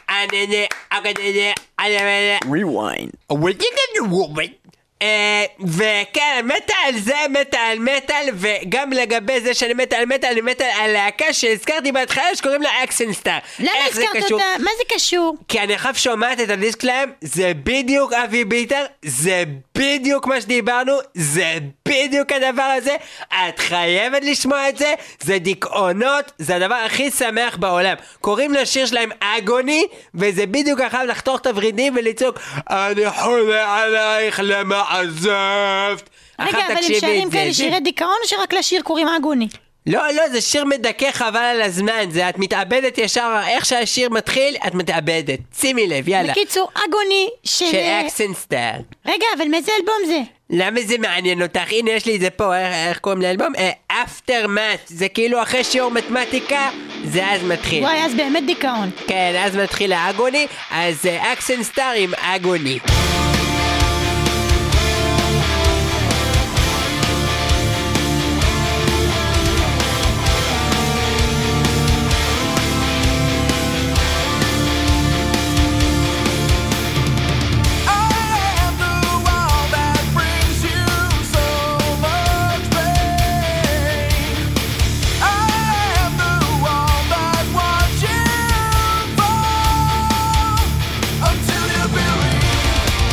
Speaker 2: Rewind.
Speaker 8: וכן, מתה על זה, מתה על מטל, וגם לגבי זה שאני מתה על מטל, אני מתה על להקה שהזכרתי בהתחלה שקוראים לה אקסנסטאר.
Speaker 10: למה הזכרת אותה? מה זה קשור?
Speaker 8: כי אני עכשיו שומעת את הדיסק להם, זה בדיוק אבי ביטר, זה בדיוק מה שדיברנו, זה בדיוק הדבר הזה, את חייבת לשמוע את זה, זה דיכאונות, זה הדבר הכי שמח בעולם. קוראים לשיר שלהם אגוני, וזה בדיוק אחר לחתוך את הוורידים ולצעוק, אני חולה עלייך למה עזבת.
Speaker 10: רגע, אבל הם שרים כאלה שירי דיכאון או שרק לשיר קוראים אגוני?
Speaker 8: לא, זה שיר מדכא חבל על הזמן, זה את מתאבדת ישר, איך שהשיר מתחיל, את מתאבדת. שימי לב, יאללה.
Speaker 10: בקיצור, אגוני של
Speaker 8: אקסנסטאר.
Speaker 10: רגע, אבל מאיזה אלבום זה?
Speaker 8: למה זה מעניין אותך? הנה יש לי את זה פה, איך קוראים לאלבום? Aftermath, זה כאילו אחרי שיעור מתמטיקה, זה אז מתחיל.
Speaker 10: וואי, אז באמת דיכאון.
Speaker 8: כן, אז מתחיל האגוני, אז אקסנסטאר עם אגוני.
Speaker 9: Until you believe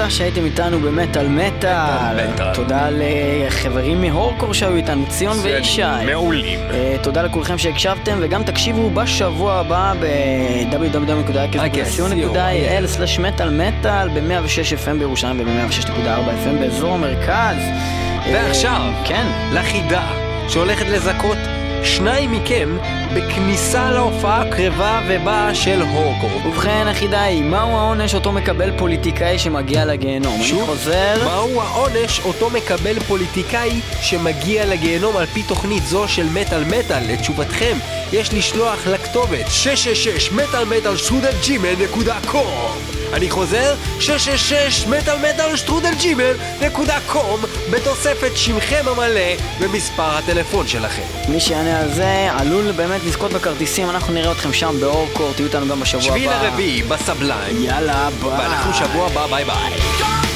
Speaker 2: תודה שהייתם איתנו במטל מטל. תודה לחברים מהורקור שהיו איתנו, ציון וישי.
Speaker 1: מעולים.
Speaker 2: תודה לכולכם שהקשבתם, וגם תקשיבו בשבוע הבא ב-www.il/מטל-מטל ב-106 FM בירושלים וב-106.4 FM באזור המרכז.
Speaker 1: ועכשיו,
Speaker 2: כן,
Speaker 1: לחידה שהולכת לזכות 2 מכם בכניסה להופעה הקרבה ובאה של הורקור.
Speaker 2: ובכן, החידה היא, מהו העונש אותו מקבל פוליטיקאי שמגיע לגיהנום?
Speaker 1: שוב,
Speaker 2: אני חוזר.
Speaker 1: מהו העונש אותו מקבל פוליטיקאי שמגיע לגיהנום על פי תוכנית זו של מטל מטל? לתשובתכם יש לשלוח לכתובת 666metalmetal@gmail.com. אני חוזר, 666metalmetal@gmail.com בתוספת שמכם המלא ומספר הטלפון שלכם.
Speaker 2: מי שיענה על זה עלול באמת לזכות בכרטיסים. אנחנו נראה אתכם שם באורקור, תהיו איתנו גם בשבוע הבא.
Speaker 1: 7 לרביעי בסבליים.
Speaker 2: יאללה, ביי.
Speaker 1: ואנחנו שבוע הבא, ביי ביי.